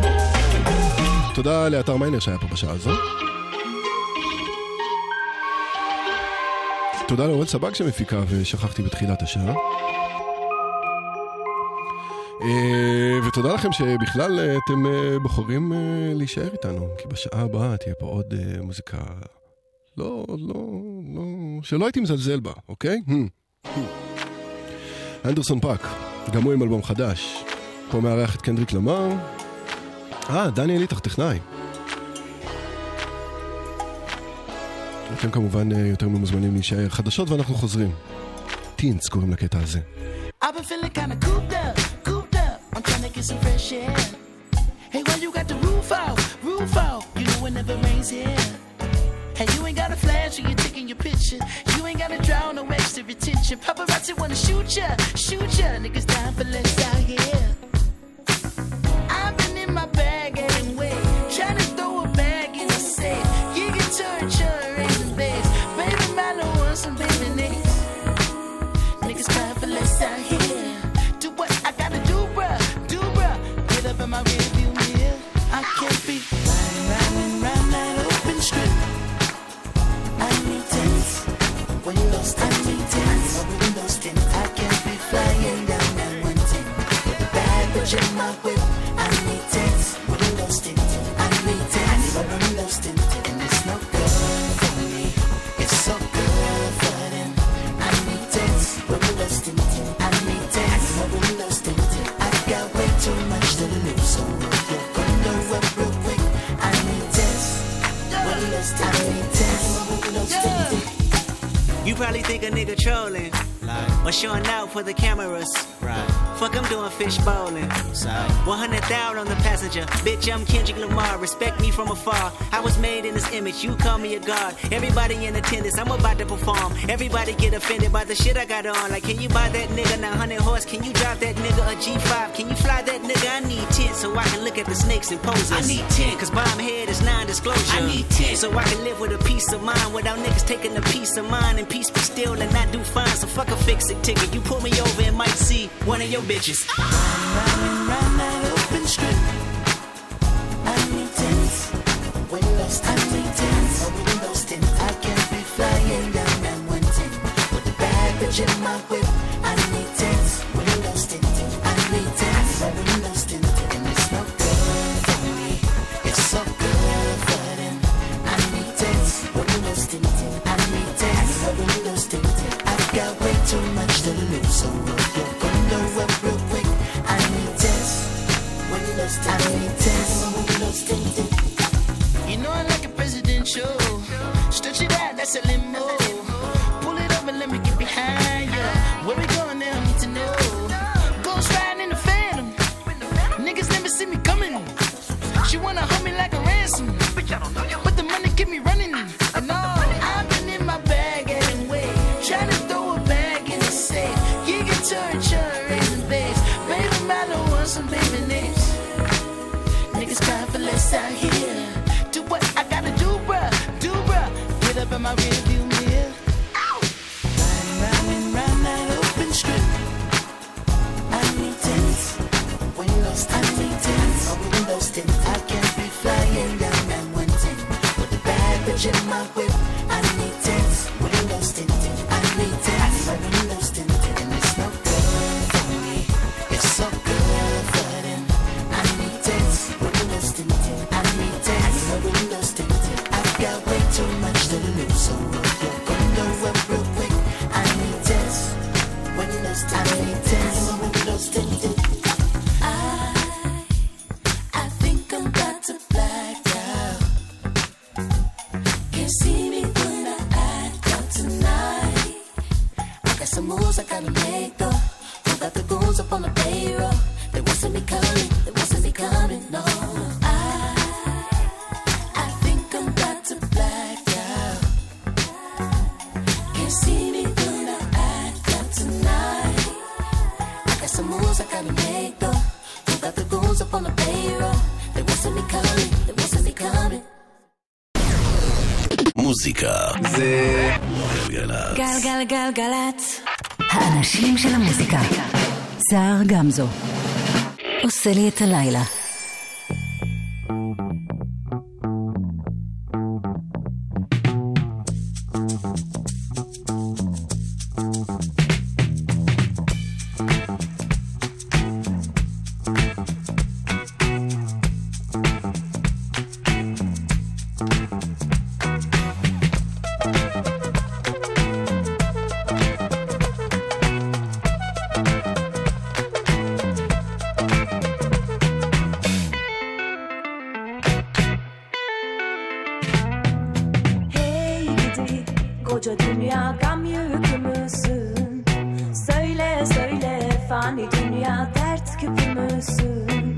תודה לאתר מיינר שהיה פה בשעה הזו. תודה לאורל סבג שמפיקה ושכחתי בתחילת השעה. ותודה לכם שבכלל אתם בוחרים להישאר איתנו, כי בשעה הבאה תהיה פה עוד מוזיקה לא, שלא הייתי מזלזל בה, אוקיי? אנדרסון פאק, גם הוא עם אלבום חדש. פה מארח את קנדריק למר. דניאל ליטח, טכנאי. אתם כמובן יותר ממוזמנים להישאר. חדשות ואנחנו חוזרים. טינס קוראים לקטע הזה. I've been feeling kinda cooped up. I'm trying to get some fresh air. Hey, why you got the roof out? You know it never rains here. And you ain't got a flash when you're taking your picture. You ain't got to draw no extra attention. Paparazzi wanna shoot ya. Niggas dying for less out here. I've been in my bag anyway, trying to throw a bag in the safe. You can turn raising bass. Baby, man, I want some baby names. Niggas crying for less out here. Do what I gotta do, bruh. Get up in my rearview mirror. I can't be riding round that open strip. I need tents. Windows, I need tents. Windows tint. I can't be flying down that 110 with a bad bitch in my whip. I need tents. Windows tint. I need tents. Windows tint. And it's no good for me. It's so good for them. I need tents. Windows tint. I need tents. Windows tint. I got way too much to lose, so you're gonna up real quick. I need tents. Windows tint. I need tents. Windows tint. You probably think a nigga trolling, or showing out for the cameras. Right. Fuck, I'm doing fish bowling. 100,000 on the passenger. Bitch, I'm Kendrick Lamar. Respect me from afar. I was made in this image. You call me a god. Everybody in attendance. I'm about to perform. Everybody get offended by the shit I got on. Like, can you buy that nigga 900 horse? Can you drive that nigga a G5? Can you fly that nigga? I need 10 so I can look at the snakes and poses. I need 10 cause bomb head is non-disclosure. I need 10 so I can live with a peace of mind without niggas taking a piece of mine and peace be still and not do fine. So fuck a fix-it ticket. You pull me over and might see one of your bitches. Riding round that open strip. I need tents. Windows, I need tents. Windows tint. I can't be flying down that 110 with a bad bitch in my whip. I need tents. Windows tint. I need tents. Windows tint. And it's no good for me. It's so good for them. I need tents. Windows tint. I need tents. Windows tint. I've got way too much to lose, so you're gonna up real quick. I need tents. Windows tint. I need tents. Windows tint. You know I like a presidential. Stretch it out, that's a limo. Pull it up and let me get behind you. Where we going now? I need to know. Ghost riding in the Phantom. Niggas never see me coming. She wanna hold me like a ransom, but the money keep me running. And all I've been in my bag anyway, trying to throw a bag in the safe. You can turn raising bass. Baby, man, I want some baby names. Niggas crying for less out here. Do what I gotta do, bruh. Get up in my rearview mirror. Riding round that open strip. I need tents. Windows, I need tents. Windows tint. I can't be flying down that 110 with a bad bitch in my whip. I need tents. Windows tint. I need tents. Windows tint. And it's no good for me. It's so good for them. I need tents. Windows tint. I need tents. Windows tint. I've got way too much to lose, so you're gonna up real quick. I need tents. Windows tint. I need tents. Windows tint. I think I'm about to black out. Can't see me when I act out tonight. I got some moves I gotta make though. Who got the goons up on the payroll? They won't see me coming. No. I think I'm about to black out. Can't see me when I act out tonight. I got some moves I gotta make though. Who got the goons up on the payroll? They won't see me coming. מוזיקה זה גלגלצ. גלגלגלגלצ. האנשים של המוזיקה. סער גמזו. עושה לי את הלילה. Koca dünya gam yükü müsün? Söyle söyle fani dünya dert küpü müsün?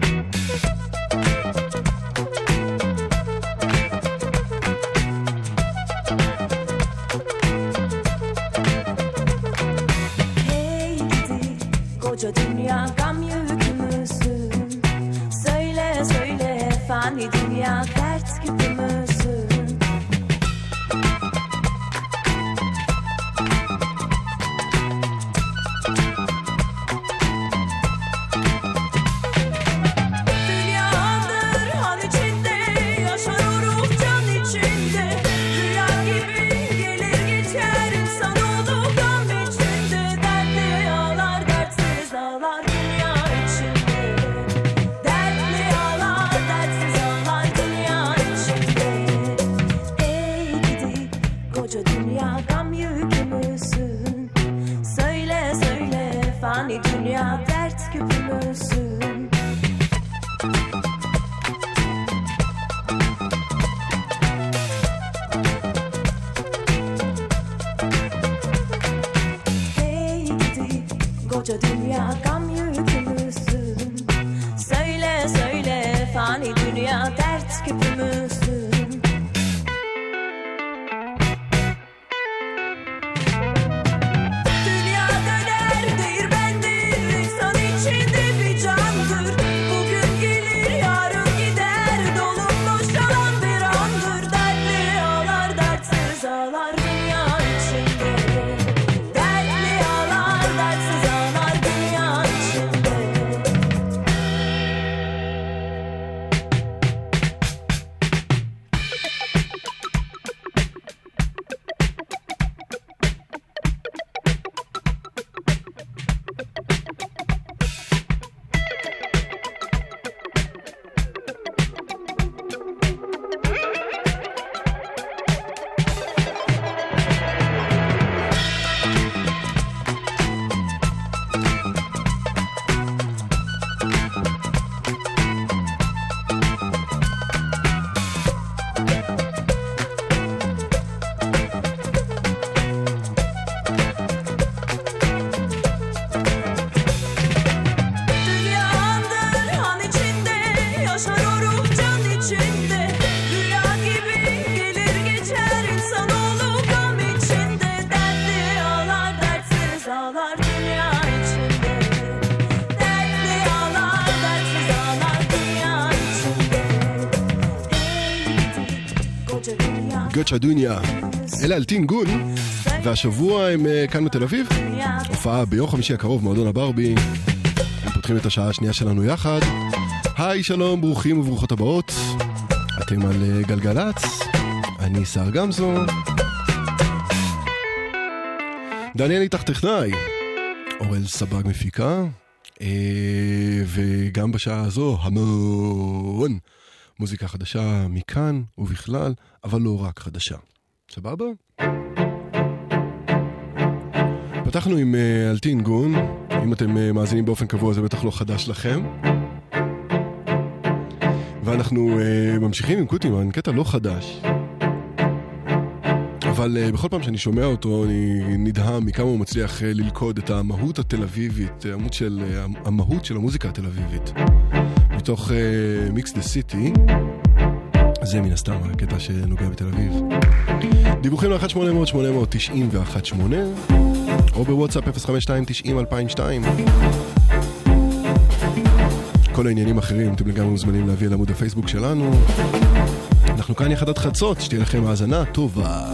koca dünya gam yükümüzsün. Söyle söyle fani dünya dert küpümüzsün. Dünyadır han içinde, yaşar o ruh can içinde. Rüya gibi gelir geçer insan oldu gam içinde. Dertli ağlar dertsiz ağlar dünya içinde. Dertli ağlar dertsiz ağlar dünya içinde. Ey gidi koca dünya gam yükümüzsün. Söyle söyle fani dünya dert küpümüzsün. Hey gidi koca dünya gam yükümüzsün. Söyle söyle fani dünya dert küpümüzsün. Dünya döner değirmendir, insan içinde bir candır. Bugün gelir yarın gider, dolup boşalan bir andır. Dertli ağlar dertsiz ağlar dünya içinde. Dertli ağlar dertsiz ağlar dünya içinde. Dünyadır han içinde, yaşar o ruh can içinde. Rüya gibi gelir geçer insan olup gam içinde. Dertli ağlar dertsiz ağlar dünya içinde. Dertli ağlar dertsiz ağlar dünya içinde. Ey gidi koca dünya גוצ'ה דוניה, אלה אלטין גון, והשבוע הם כאן בתל אביב, הופעה ביום חמישי הקרוב, מועדון הברבי, הם פותחים את השעה השנייה שלנו יחד. היי, שלום, ברוכים וברוכות הבאות, אתם על גלגלץ, אני שר גמזו, דניאל איתך טכנאי, אורל סבג מפיקה, וגם בשעה הזו המון מוזיקה חדשה מכאן ובכלל, אבל לא רק חדשה. סבבה? פתחנו עם אלטין גון, אם אתם מאזינים באופן קבוע זה בטח לא חדש לכם. ואנחנו ממשיכים עם קוטימן, קטע לא חדש. אבל בכל פעם שאני שומע אותו אני נדהם מכמה הוא מצליח ללכוד את המהות התל אביבית, המהות של המוזיקה התל אביבית. מתוך מיקס דה סיטי, זה מן הסתם הקטע שנוגע בתל אביב. דיווחים ל-1-800-891-8 או בוואטסאפ 052-90-2002. כל העניינים אחרים אתם לגמרי מוזמנים להביא לעמוד הפייסבוק שלנו. אנחנו כאן יחד עד חצות, שתהיה לכם האזנה טובה.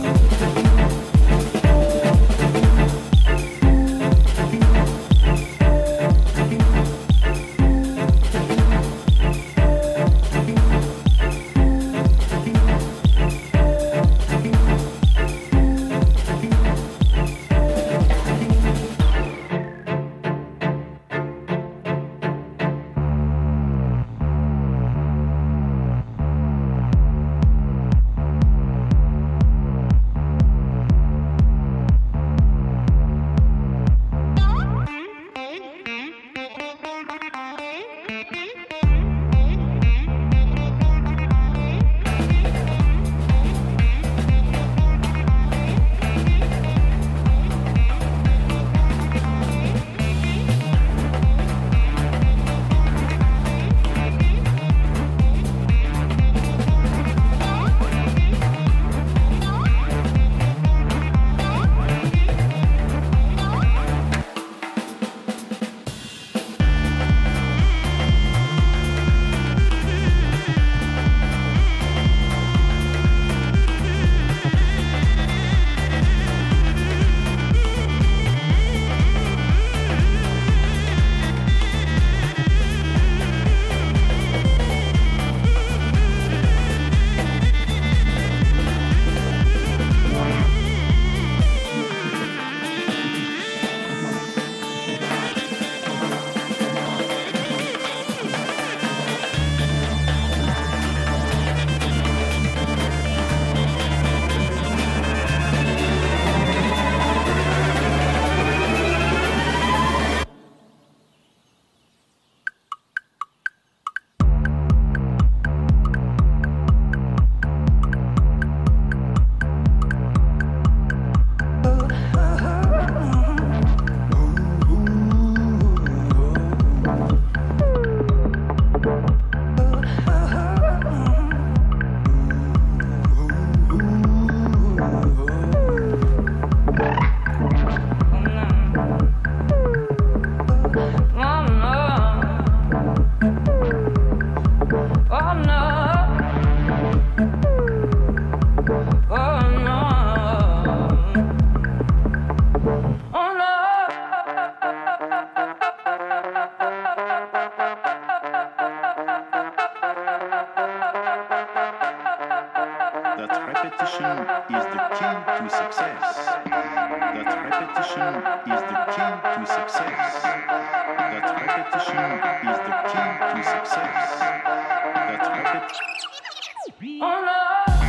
repetition is the key to success. That repetition is the key to success. That repetition is the key to success. That repetition. Oh no!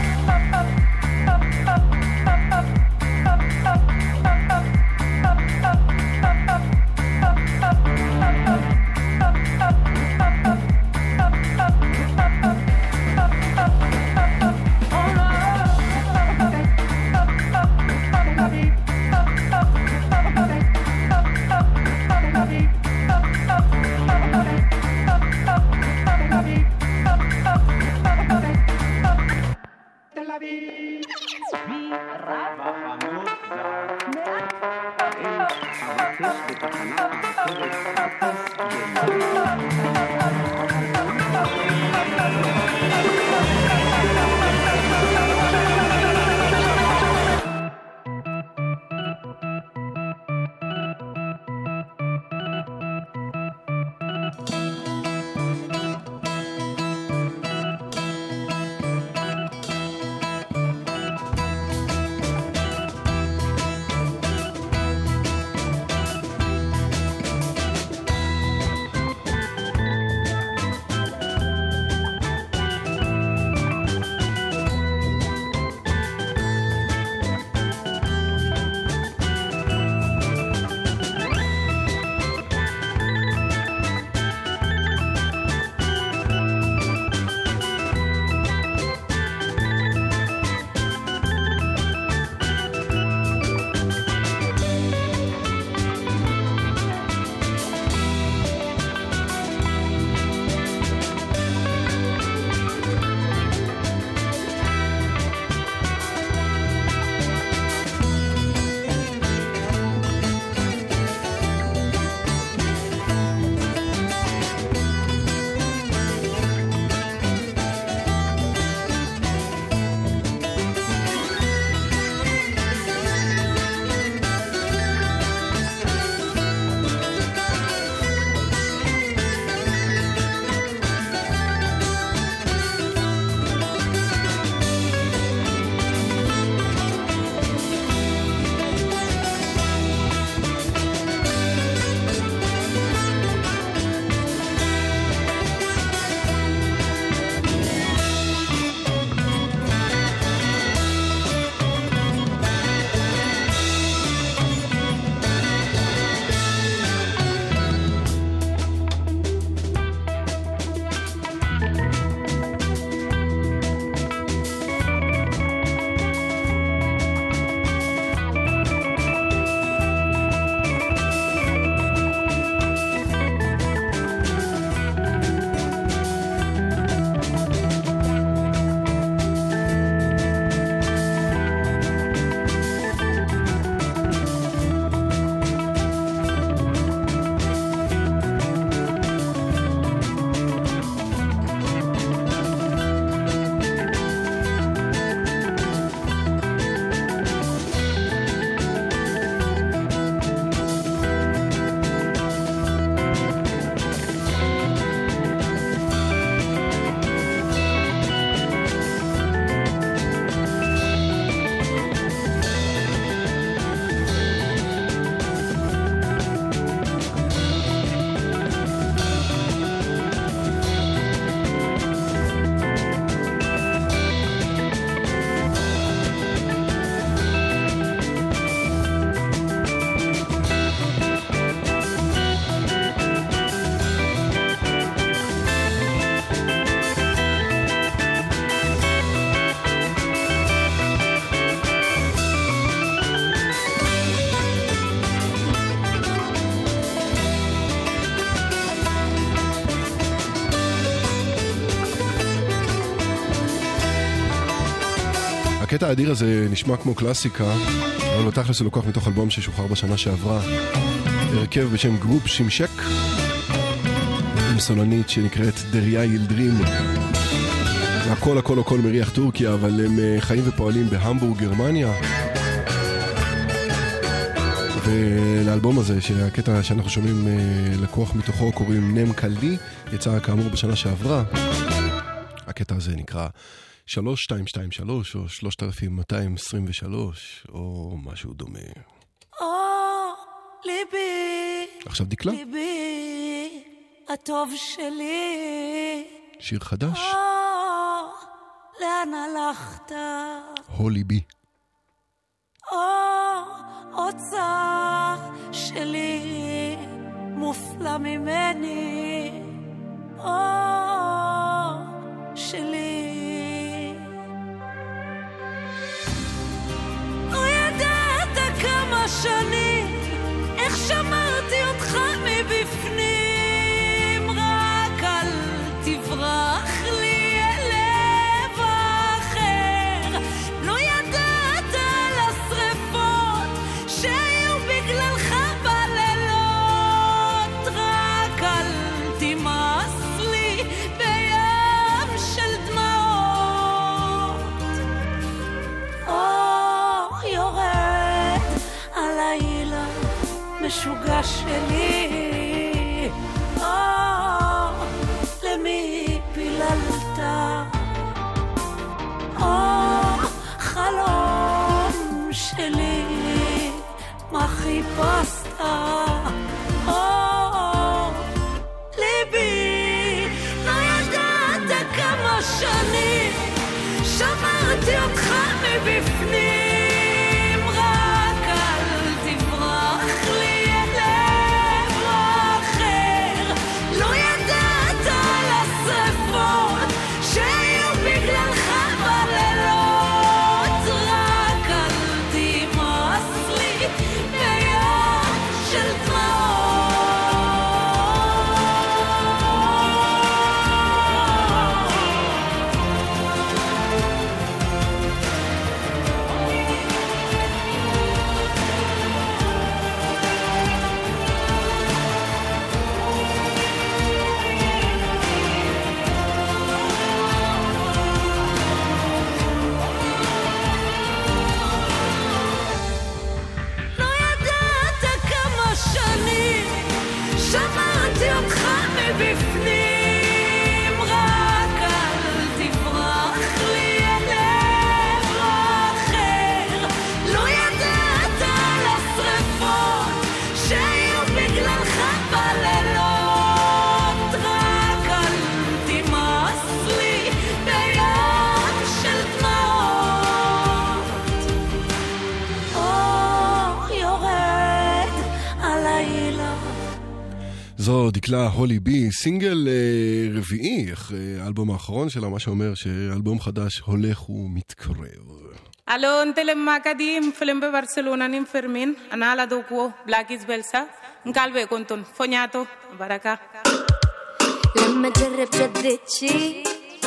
הקטע האדיר הזה נשמע כמו קלאסיקה, אבל בתכלס הוא לוקח מתוך אלבום ששוחרר בשנה שעברה. הרכב בשם גרופ שימשק, עם סולנית שנקראת דריה ילדרים. הכל הכל הכל מריח טורקיה, אבל הם חיים ופועלים בהמבורג, גרמניה. ולאלבום הזה, שהקטע שאנחנו שומעים לקוח מתוכו, קוראים נם קלדי, יצא כאמור בשנה שעברה. הקטע הזה נקרא 3223 או 3223 או משהו דומה. ליבי, עכשיו דקלה. ליבי, הטוב שלי. שיר חדש. לאן הלכת? הולי בי. אוצר שלי, מופלא ממני. שלי. לא ידעת כמה שנים איך שמרתי אותך מבפנים, רק אל תברח לי אל לב אחר. לא ידעת על השרפות שהיו בגללך בלילות, רק אל תמאס לי בים של דמעות. יורד הלילה משוגע שלי, למי פיללת? חלום שלי, מה חיפשת? ליבי, לא ידעת כמה שנים שמרתי אותך מבפנים, רק אל תברח לי אל לב אחר. לא ידעת על השרפות שהיו בגללך בלילות, רק אל תמאס לי בים של שמעתי אותך מבפנים, רק אל תברח לי אל לב אחר. לא ידעת על השרפות שהיו בגללך בלילות, רק אל תמאס לי בים של דמעות. יורד הלילה. זו דקלה הולי בי, סינגל רביעי אחרי האלבום האחרון שלה, מה שאומר שאלבום חדש הולך ומתקרב. Allo, Telemacadim, Flembe Barcelona, Ninfermin, Anala Doku, Black is Belsa, Calve Conton, Fognato, Baraka. لما تجرب جدتشي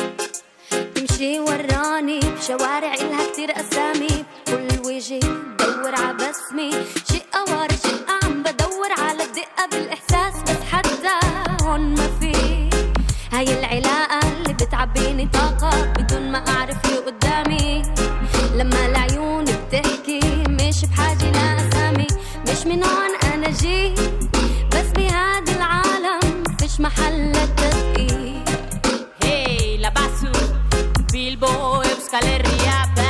تمشي وراني بشوارع إلها كتير أسامي، كل وجهي بدور عبسمي، شقة ورا شقة عم بدور على الدقة بالإحساس، بس حتى هون ما في هاي العلاقة اللي بتعبيني طاقة بدون ما أعرف اللي قدامي. لما العيون بتحكي مش بحاجة لأسامي، مش من هون أنا جيت، بس بهذا العالم فيش محل للتدقيق. Hey, la basu, Bilbo, Euskal Herria, ba.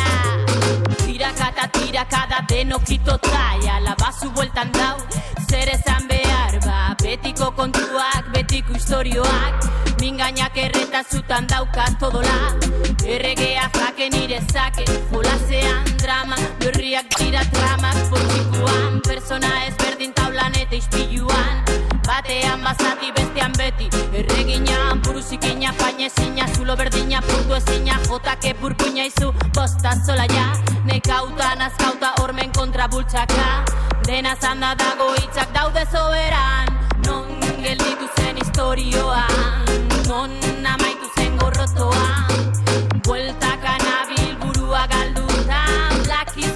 Tirakada denokito taia, la basu bueltan dau, zer esan behar, ba. Betiko kontuak, betiko istorioak, mingainak erretazutan daukat todola. Erregea zake nire zake, jolasean drama, berriak dira tramak, poltsikuan, persona ezberdin taulan eta ispiluan. Batean bazati bestean beti, erreginan, buruzikina, painezina, zulo berdina, puntu ezina, jotake purpuina izu, bosta zola ja, nekauta, nazkauta, ormen kontra bultxaka, dena zanda dago hitzak daude soberan, non gelditu zen historioan, non amaitu zen gorrotoan, bueltaka nabil burua galdutan, Black is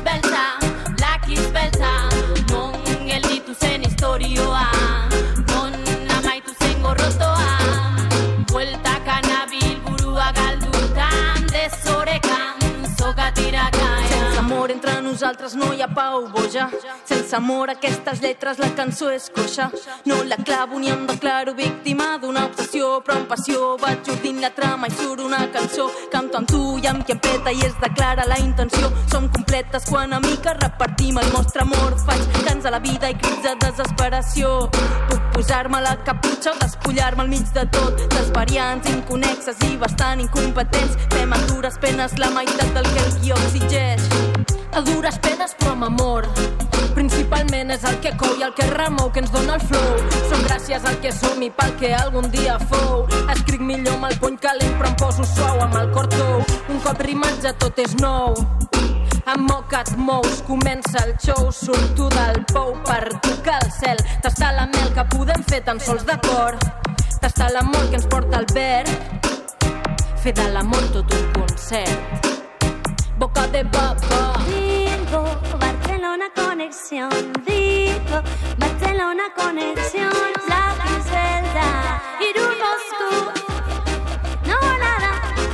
beltza, non gelditu zen historioan, non amaitu zen gorrotoan, bueltaka nabil burua galdutan, desorekan, zokatirakan. Senza amore entra in un nosaltres no hi ha pau, boja. Sense amor aquestes lletres la cançó és coixa. No la clavo ni em declaro víctima d'una obsessió, però amb passió vaig urdint la trama i surt una cançó. Canto amb tu i amb qui em peta i es declara la intenció. Som completes quan amiques repartim el nostre amor. Faig cants a la vida i crits de desesperació. Puc posar-me la caputxa o despullar-me al mig de tot. Les variants inconexes i bastant incompetents. Fem a dures penes la meitat del que el guió exigeix. A dures penes però amb amor. Principalment és el que cou i el que remou, que ens dona el flow. Som gràcies al que som i pel que algun dia fou. Escric millor amb el puny calent però em poso suau amb el cor tou. Un cop rimat ja tot és nou. Amb moca et mous, comença el show. Surto del pou per tocar el cel. Tastar la mel que podem fer tan sols de cor. Tastar l'amor que ens porta el verb. Fer de l'amor tot un concert. Boca de papa. Vivo Barcelona conexión. Vivo Barcelona conexión. La Zelda Irun Moscú. No nada.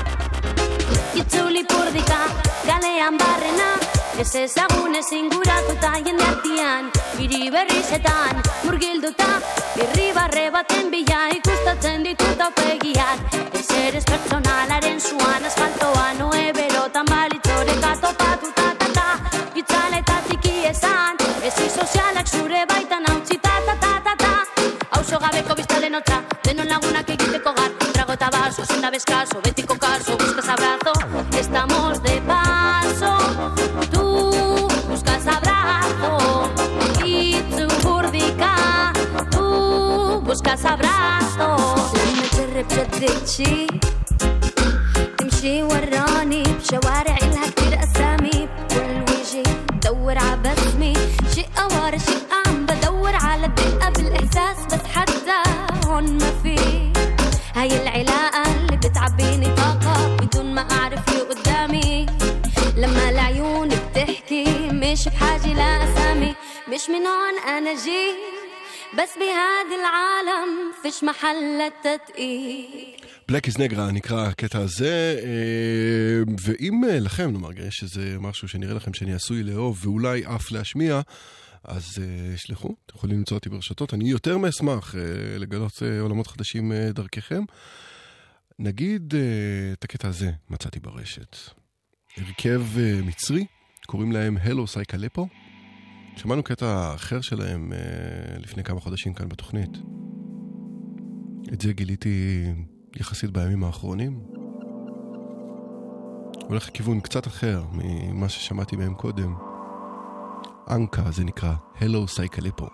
Itzuli purdika galean barrena. Ez ezagune zinguratuta jende artian. Hiri berrizetan murgilduta. Birri barre baten bila ikustatzen ditut aupegiak. Ez eres personalaren zuan asfaltoa. Noe berotan balitzoreka topatuta ta. Itzaletatik iezan. Ezi sozialak zure baitan hautzi ta. Hauzo gabeko biztalen hotza. Denon lagunak egiteko gar. Trago eta baso, senda beskazo. Betiko kaso, buscas abrazo. Estamos de paso. Tú buscas abrazo. Itzu burdika. Tú buscas abrazo. لما جرب جدتشي تمشي وراني بشوارع إلها كتير أسامي بكل وجهي بدور عبسمي شيء ورا شيء عم بدور على الدقة بالإحساس بس حتى هون ما في هاي العلاقة اللي بتعبيني طاقة بدون ما أعرف اللي قدامي لما العيون بتحكي مش بحاجة لأسامي مش من هون أنا جيت بس بهذا العالم فيش محل للتدقيق. בלק איז נגרה נקרא הקטע הזה, ואם לכם נאמר שזה משהו שנראה לכם שאני עשוי לאהוב ואולי אף להשמיע, אז שלחו, אתם יכולים למצוא אותי ברשתות, אני יותר מאשמח לגלות עולמות חדשים דרככם. נגיד את הקטע הזה מצאתי ברשת. הרכב מצרי, קוראים להם הלו סייקלפו. שמענו קטע אחר שלהם לפני כמה חודשים כאן בתוכנית. את זה גיליתי יחסית בימים האחרונים. הולך לכיוון קצת אחר ממה ששמעתי מהם קודם. אנקה זה נקרא הלו סייקלפו.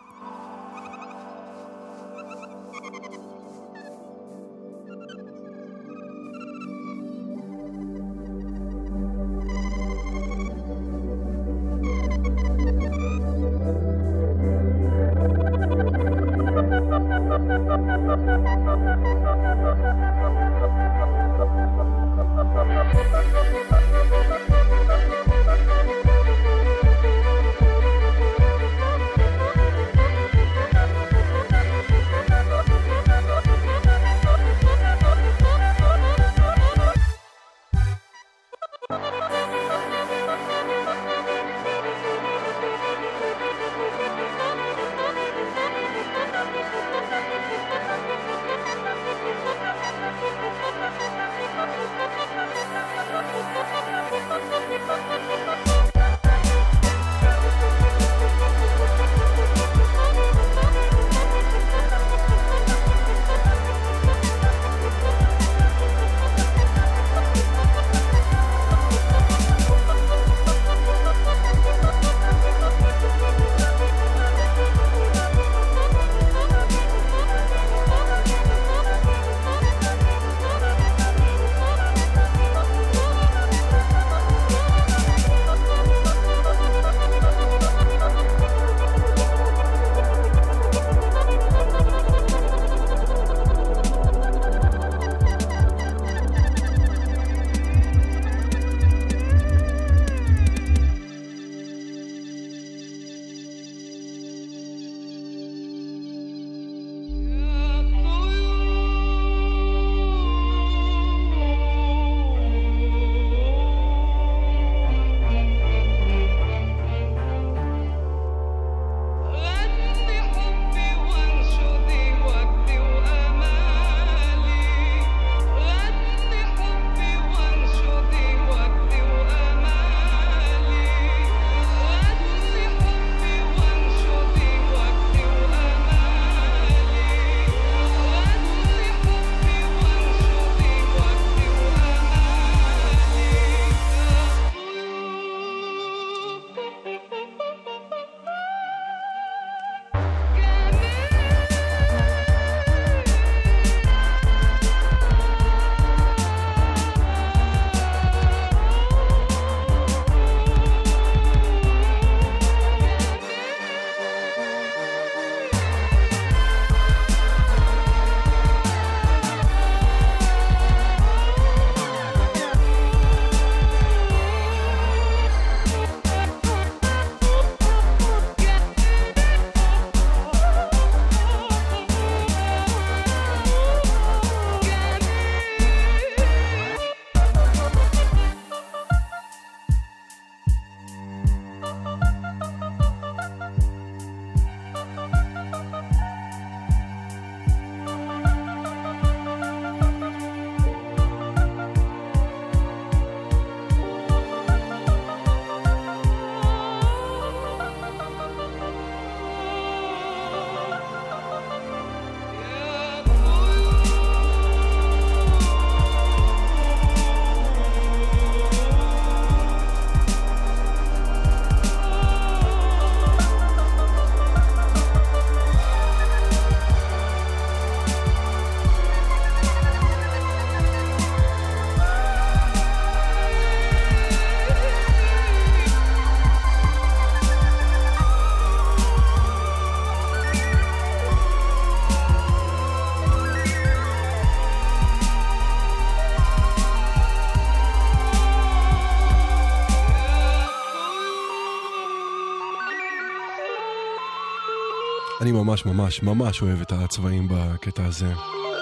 ממש ממש ממש אוהב את הצבעים בקטע הזה.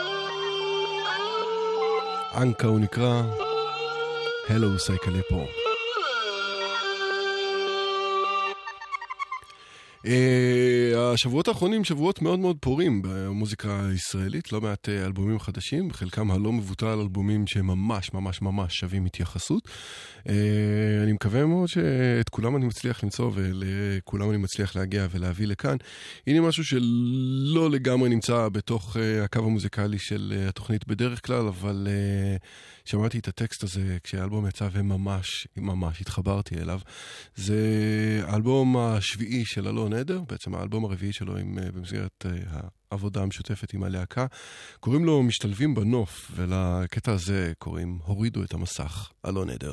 אנקה הוא נקרא, הלו סייקלה פה. השבועות האחרונים שבועות מאוד מאוד פורים במוזיקה הישראלית, לא מעט אלבומים חדשים, חלקם הלא מבוטל אלבומים שממש ממש ממש שווים התייחסות. אני מקווה מאוד שאת כולם אני מצליח למצוא ולכולם אני מצליח להגיע ולהביא לכאן. הנה משהו שלא לגמרי נמצא בתוך הקו המוזיקלי של התוכנית בדרך כלל, אבל שמעתי את הטקסט הזה כשהאלבום יצא וממש ממש התחברתי אליו. זה האלבום השביעי של אלון עדר, בעצם האלבום הרביעי שלו במסגרת העבודה המשותפת עם הלהקה. קוראים לו משתלבים בנוף, ולקטע הזה קוראים הורידו את המסך. אלון עדר.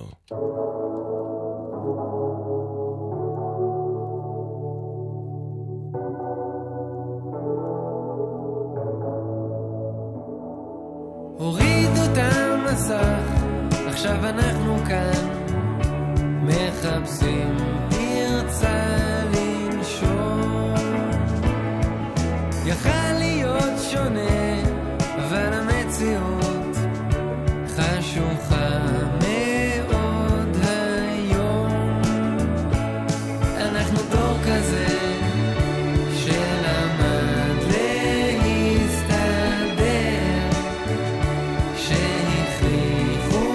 הורידו את המסך, עכשיו אנחנו כאן מחפשים פרצה לנשום. יכל להיות שונה, אבל המציאות חשוכה מאוד היום. אנחנו דור כזה שלמד להסתדר, שהכריחו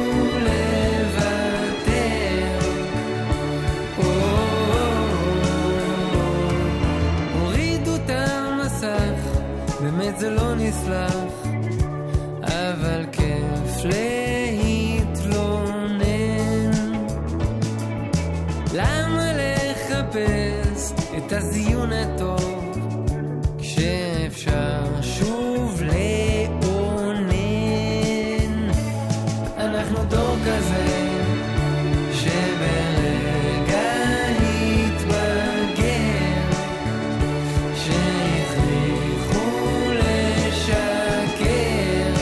לוותר. הורידו את המסך, באמת זה לא נסלח, אבל כיף להתלונן. למה לחפש את הזיון הטוב כשאפשר שוב לאונן? אנחנו דור כזה שברגע התבגר, שהכריחו לשקר.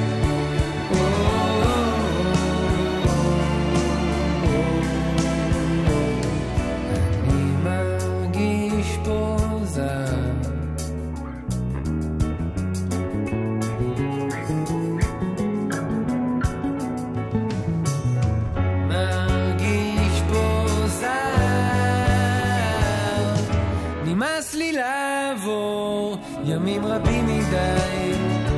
אני מרגיש פה זר, מרגיש פה זר. נמאס לי לעבור ימים רבים מדי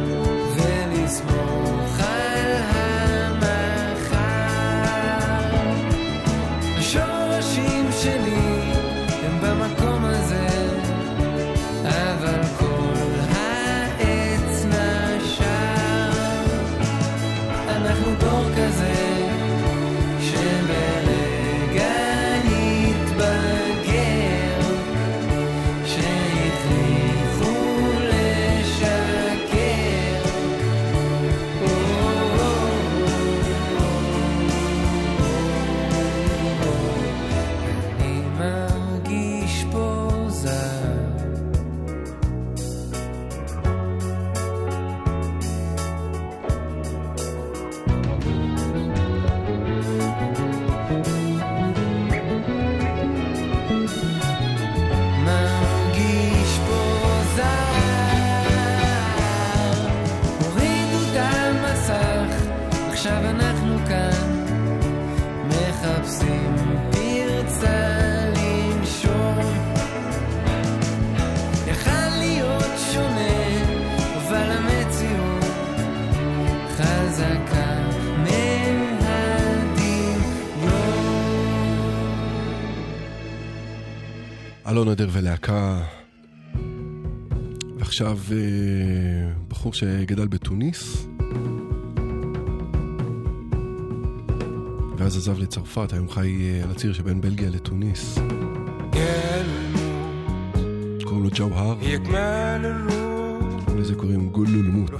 ולסמוך על המחר. השורשים שלי הם במקום הזה, אבל כל העץ נשר. אנחנו דור כזה שברגע התבגר, שהכריחו לשקר. אני מרגיש פה זר. מרגיש פה זר. הורידו את המסך, עכשיו אנחנו כאן מחפשים פרצה לנשום. יכל להיות שונה, אבל המציאות חזקה מהדמיון. אלון עדר ולהקה. ועכשיו בחור שגדל בתוניס ואז עזב לצרפת, היום חי על הציר שבין בלגיה לתוניס. קוראים לו ג'אוהר, לזה קוראים גולו למות.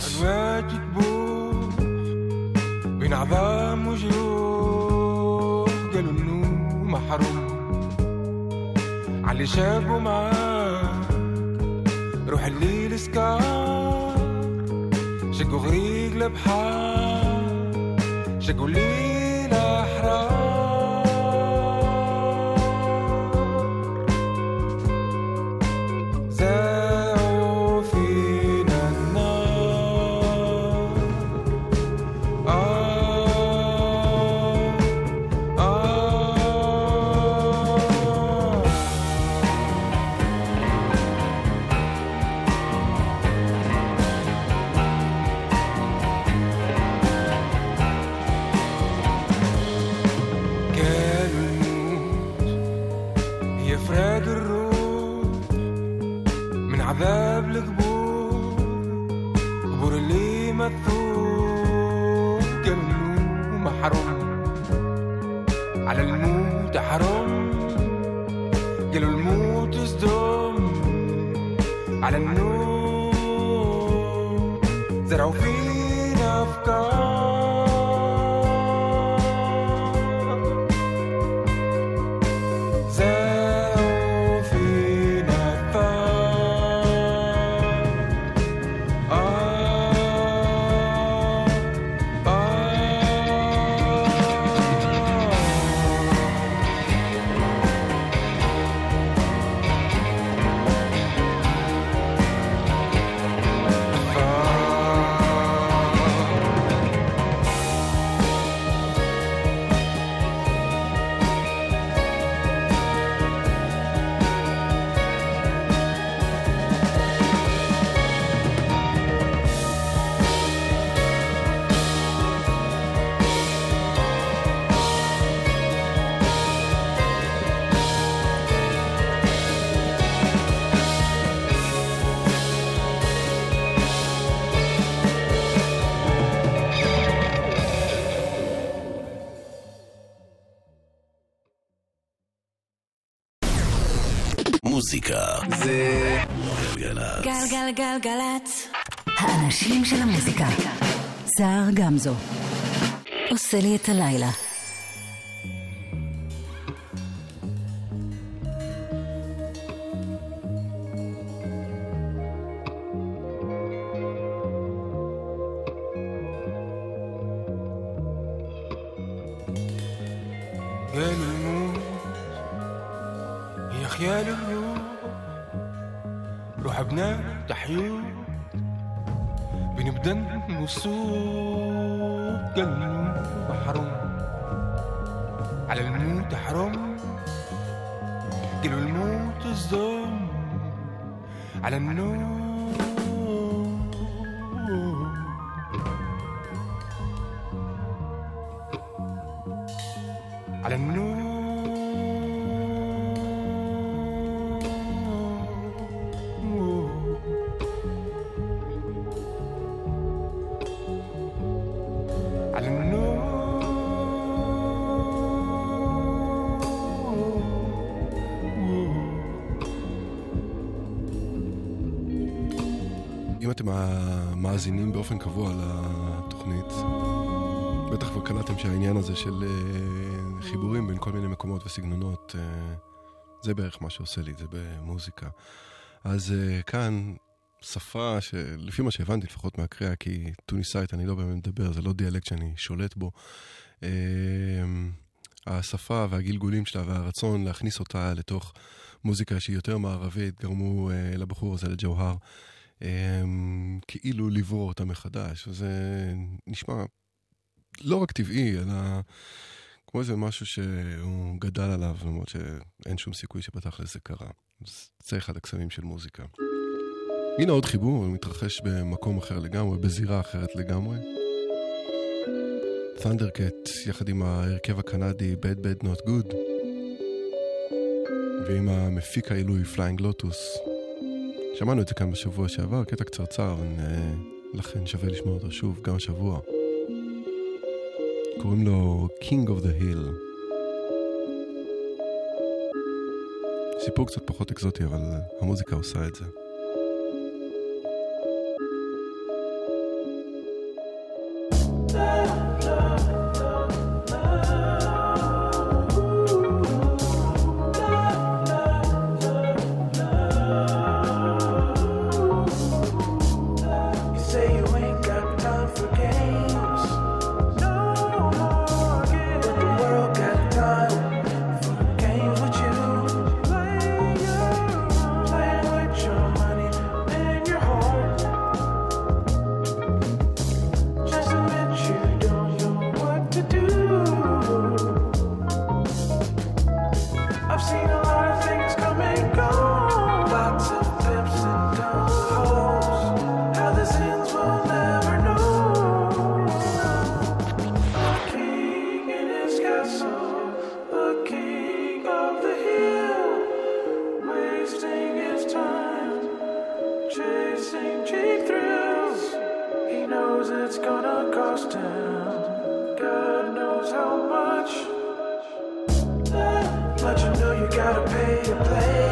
بين عظام وجروح قالوا انه محروم علي شابه معاك روح الليل سكار شقوا غريق لبحار شقوا الليل احرار زاو النور اللي مثور قالوا محروم على الموت حرام قالوا الموت صدام على النور زرعوا فينا أفكار زرعوا فينا מוזיקה זה גלגלצ. גלגלגלגלצ. האנשים של המוזיקה. סער גמזו עושה לי את הלילה. يا للروح روح بنام تحيوت بنبدأ وصوت قلب حرام على الموت حرام قالوا الموت الظلم على النور على النور אם אתם מאזינים באופן קבוע לתוכנית, בטח כבר קלטתם שהעניין הזה של חיבורים בין כל מיני מקומות וסגנונות, זה בערך מה שעושה לי, זה במוזיקה. אז כאן שפה שלפי מה שהבנתי לפחות מהקריאה, כי טוניסאית אני לא באמת מדבר, זה לא דיאלקט שאני שולט בו. השפה והגלגולים שלה והרצון להכניס אותה לתוך מוזיקה שהיא יותר מערבית, גרמו לבחור הזה, לג'והר, כאילו לברוא אותה מחדש. וזה נשמע לא רק טבעי, אלא כמו איזה משהו שהוא גדל עליו, למרות שאין שום סיכוי שבתכל'ס זה קרה. זה אחד הקסמים של מוזיקה. הנה עוד חיבור, הוא מתרחש במקום אחר לגמרי, בזירה אחרת לגמרי. ת'נדרקט, יחד עם ההרכב הקנדי Bad Bad Not Good, ועם המפיק העילוי Flying Lotus. שמענו את זה כאן בשבוע שעבר, קטע קצרצר, לכן שווה לשמוע אותו שוב, גם השבוע. קוראים לו King of the Hill. סיפור קצת פחות אקזוטי, אבל המוזיקה עושה את זה. Your it's gonna cost him. God knows how much. But you know you gotta pay to play.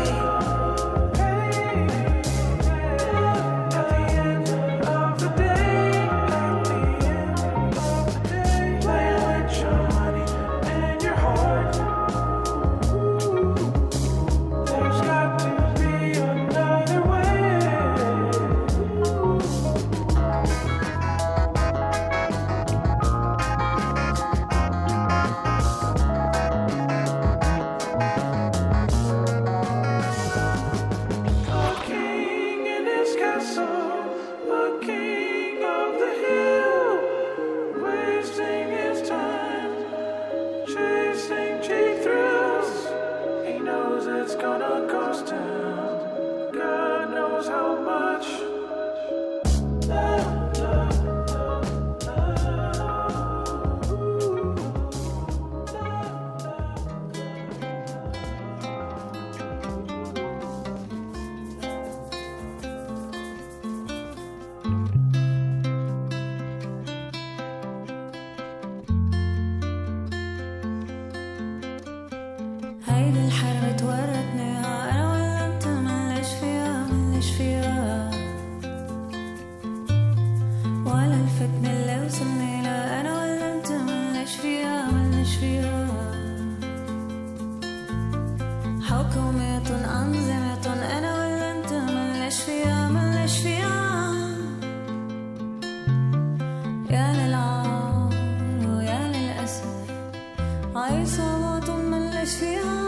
هيدي الحرب تورطني انا ولا انت ملش فيها ولا الفتنة اللي وصلني لا انا ولا انت ملش فيها حكومة أنظمة انا ولا انت ملش فيها يا للعار ويا للأسف عصابات ملش فيها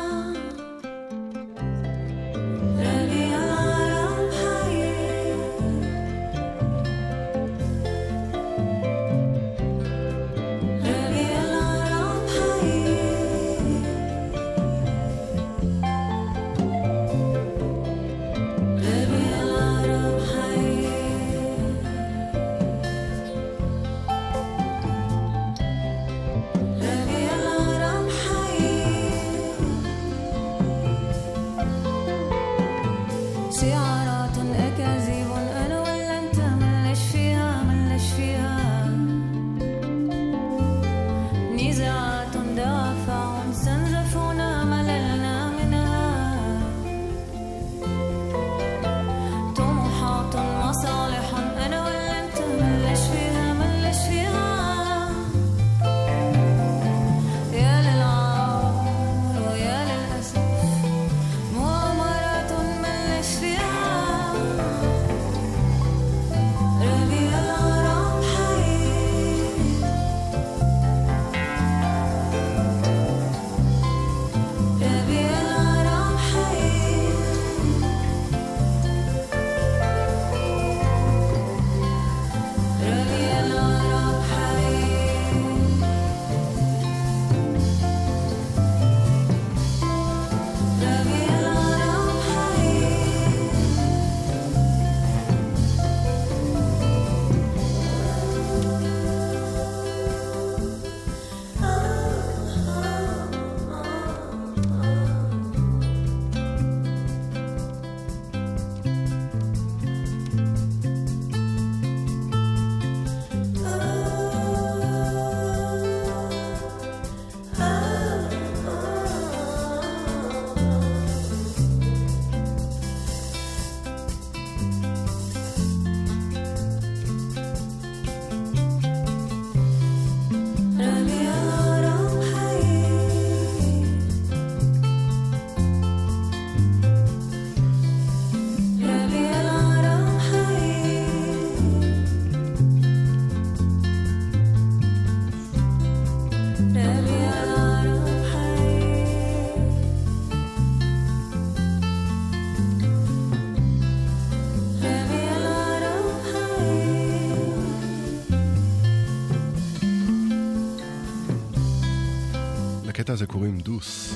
לקטע הזה קוראים דוס,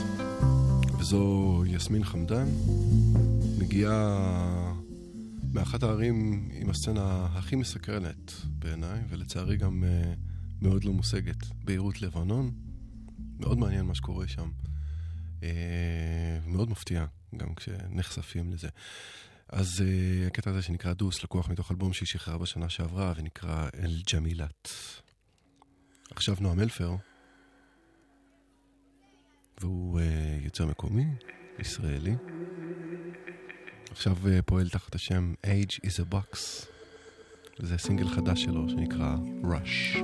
וזו יסמין חמדן, מגיעה מאחת הערים עם הסצנה הכי מסקרנת בעיניי, ולצערי גם מאוד לא מושגת, ביירות לבנון. מאוד מעניין מה שקורה שם, מאוד מפתיע גם כשנחשפים לזה. אז הקטע הזה שנקרא דוס, לקוח מתוך אלבום שהיא שחררה בשנה שעברה, ונקרא אל ג'מילת. עכשיו נועם אלפר, והוא יוצר מקומי, ישראלי. עכשיו פועל תחת השם Age is a Box. וזה סינגל חדש שלו שנקרא Rush.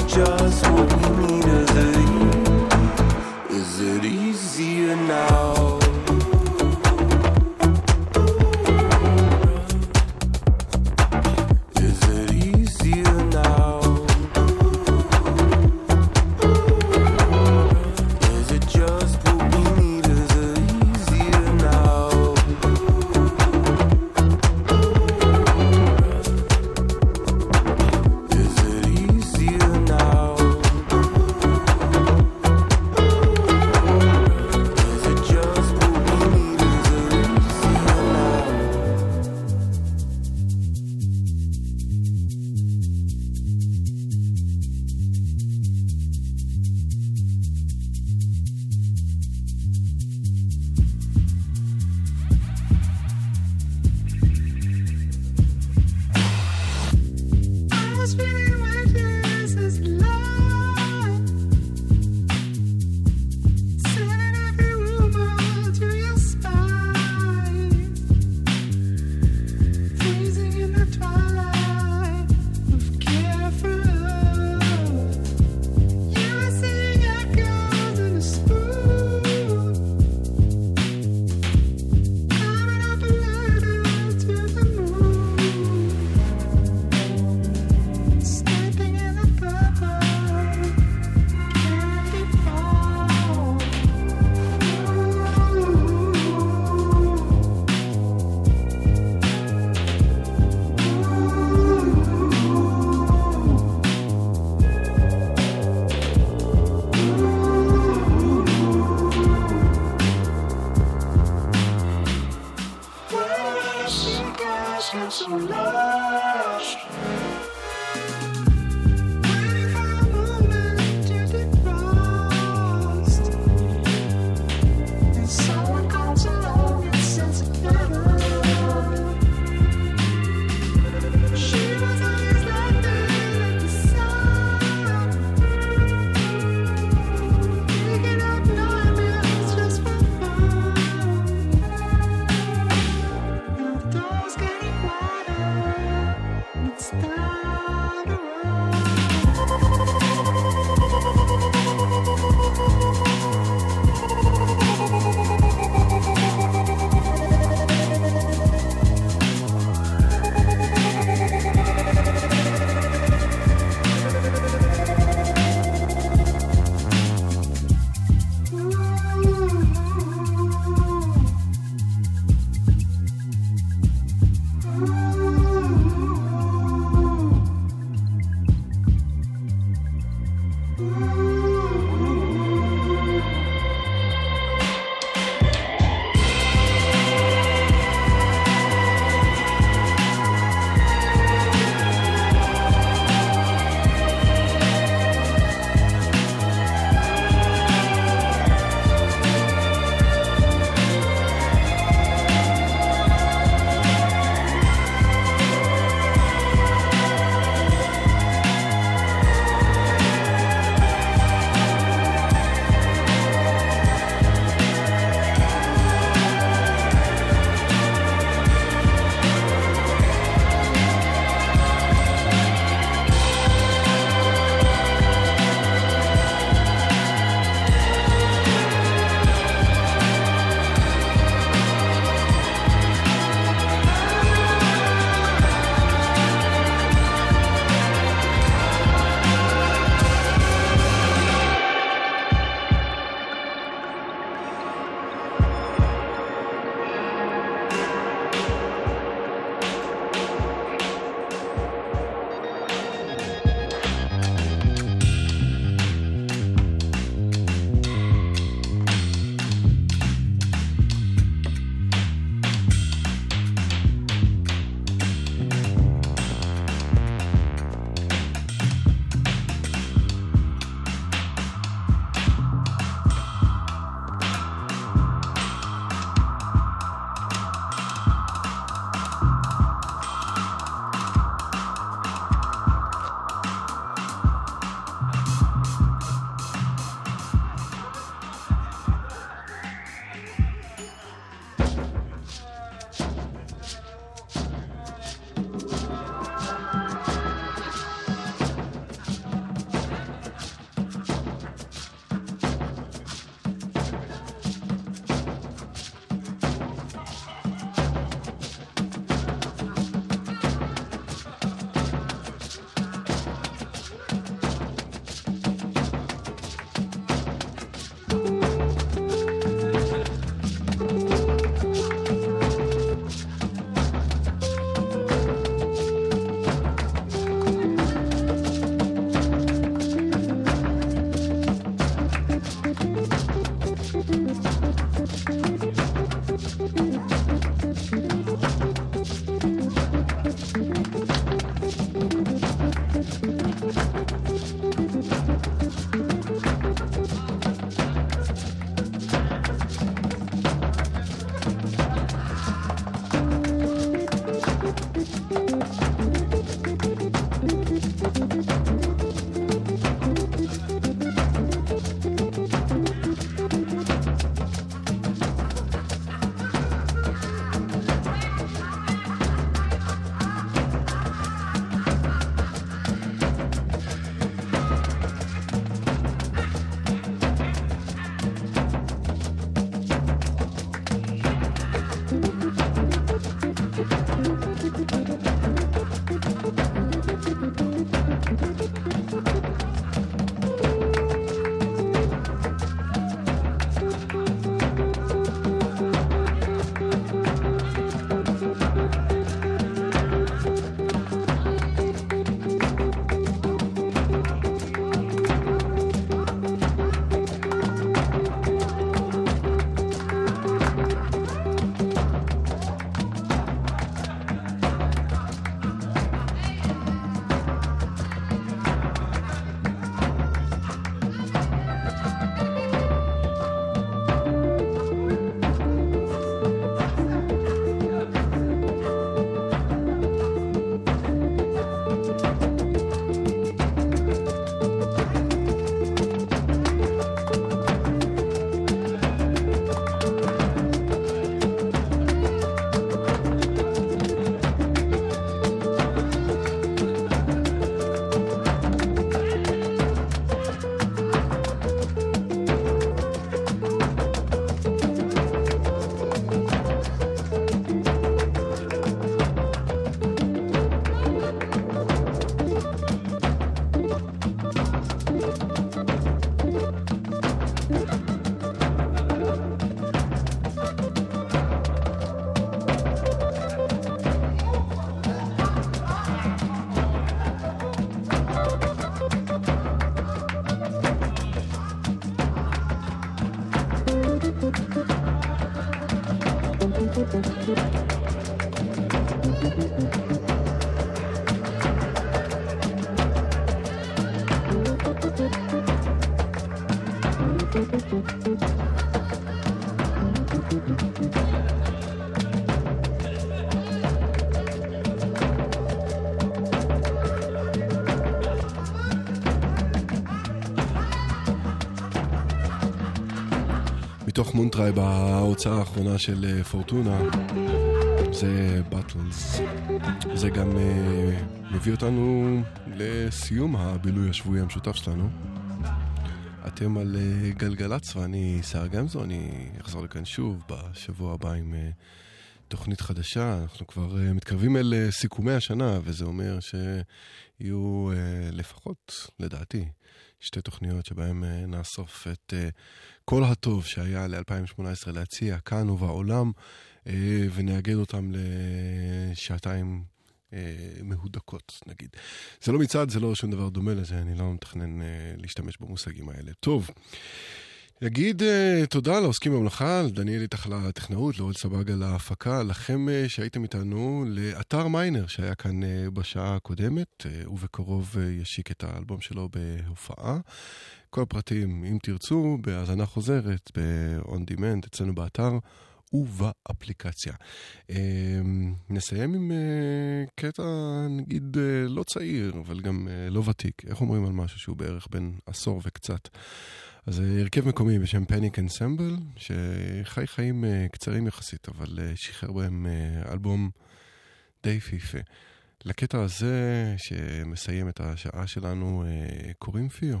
מתוך מונטריי בהוצאה האחרונה של פורטונה, זה באטלס. זה גם מביא אותנו לסיום הבילוי השבועי המשותף שלנו. אתם על גלגלץ ואני שר גמזו, אני אחזור לכאן שוב בשבוע הבא עם תוכנית חדשה. אנחנו כבר מתקרבים אל סיכומי השנה, וזה אומר שיהיו לפחות, לדעתי, שתי תוכניות שבהן נאסוף את כל הטוב שהיה ל-2018 להציע כאן ובעולם, ונאגד אותם לשעתיים מהודקות, נגיד. זה לא מצד, זה לא שום דבר דומה לזה, אני לא מתכנן להשתמש במושגים האלה. טוב, נגיד תודה לעוסקים במלאכה, לדניאל איתך לטכנאות, לאורל סבג על ההפקה, לכם שהייתם איתנו, לאתר מיינר שהיה כאן בשעה הקודמת, ובקרוב ישיק את האלבום שלו בהופעה. כל הפרטים, אם תרצו, בהאזנה חוזרת, ב-on demand, אצלנו באתר ובאפליקציה. נסיים עם קטע, נגיד, לא צעיר, אבל גם לא ותיק. איך אומרים על משהו שהוא בערך בין עשור וקצת? אז הרכב מקומי בשם פניק אנסמבל, שחי חיים קצרים יחסית, אבל שחרר בהם אלבום די פיפה. לקטע הזה שמסיים את השעה שלנו קוראים פיו.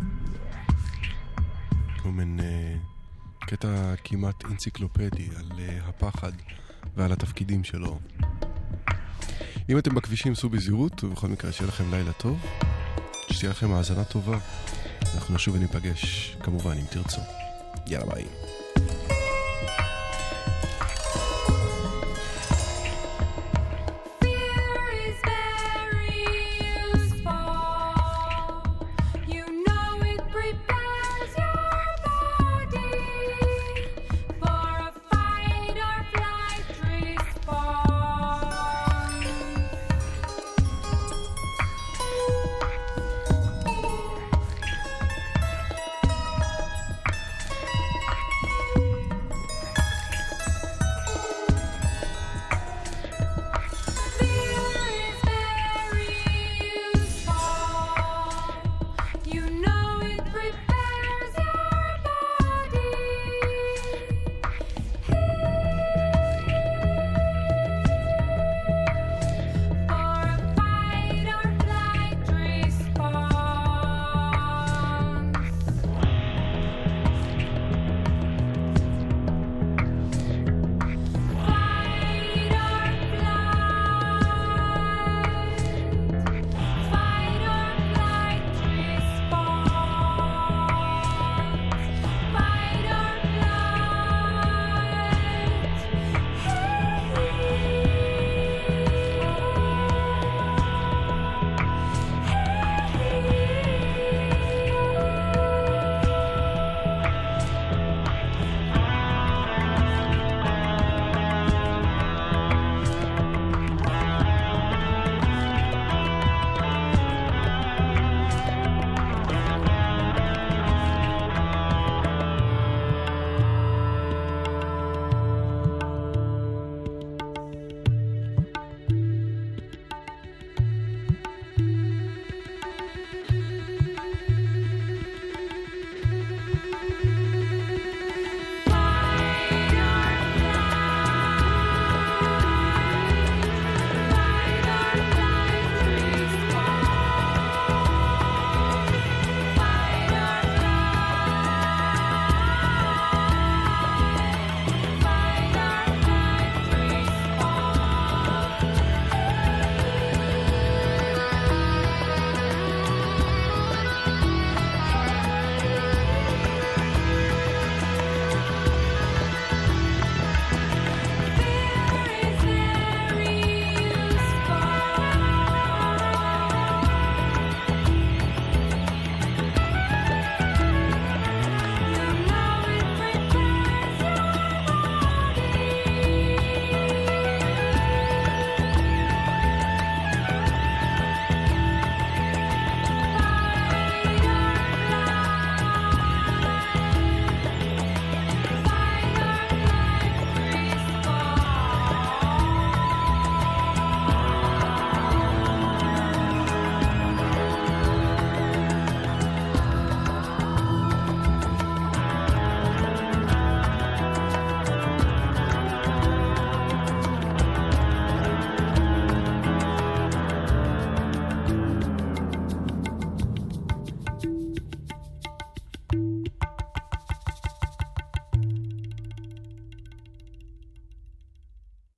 הוא מן קטע כמעט אנציקלופדי על הפחד ועל התפקידים שלו. אם אתם בכבישים סעו בזהירות, ובכל מקרה שיהיה לכם לילה טוב, שתהיה לכם האזנה טובה. אנחנו נשוב וניפגש, כמובן, אם תרצו. יאללה ביי.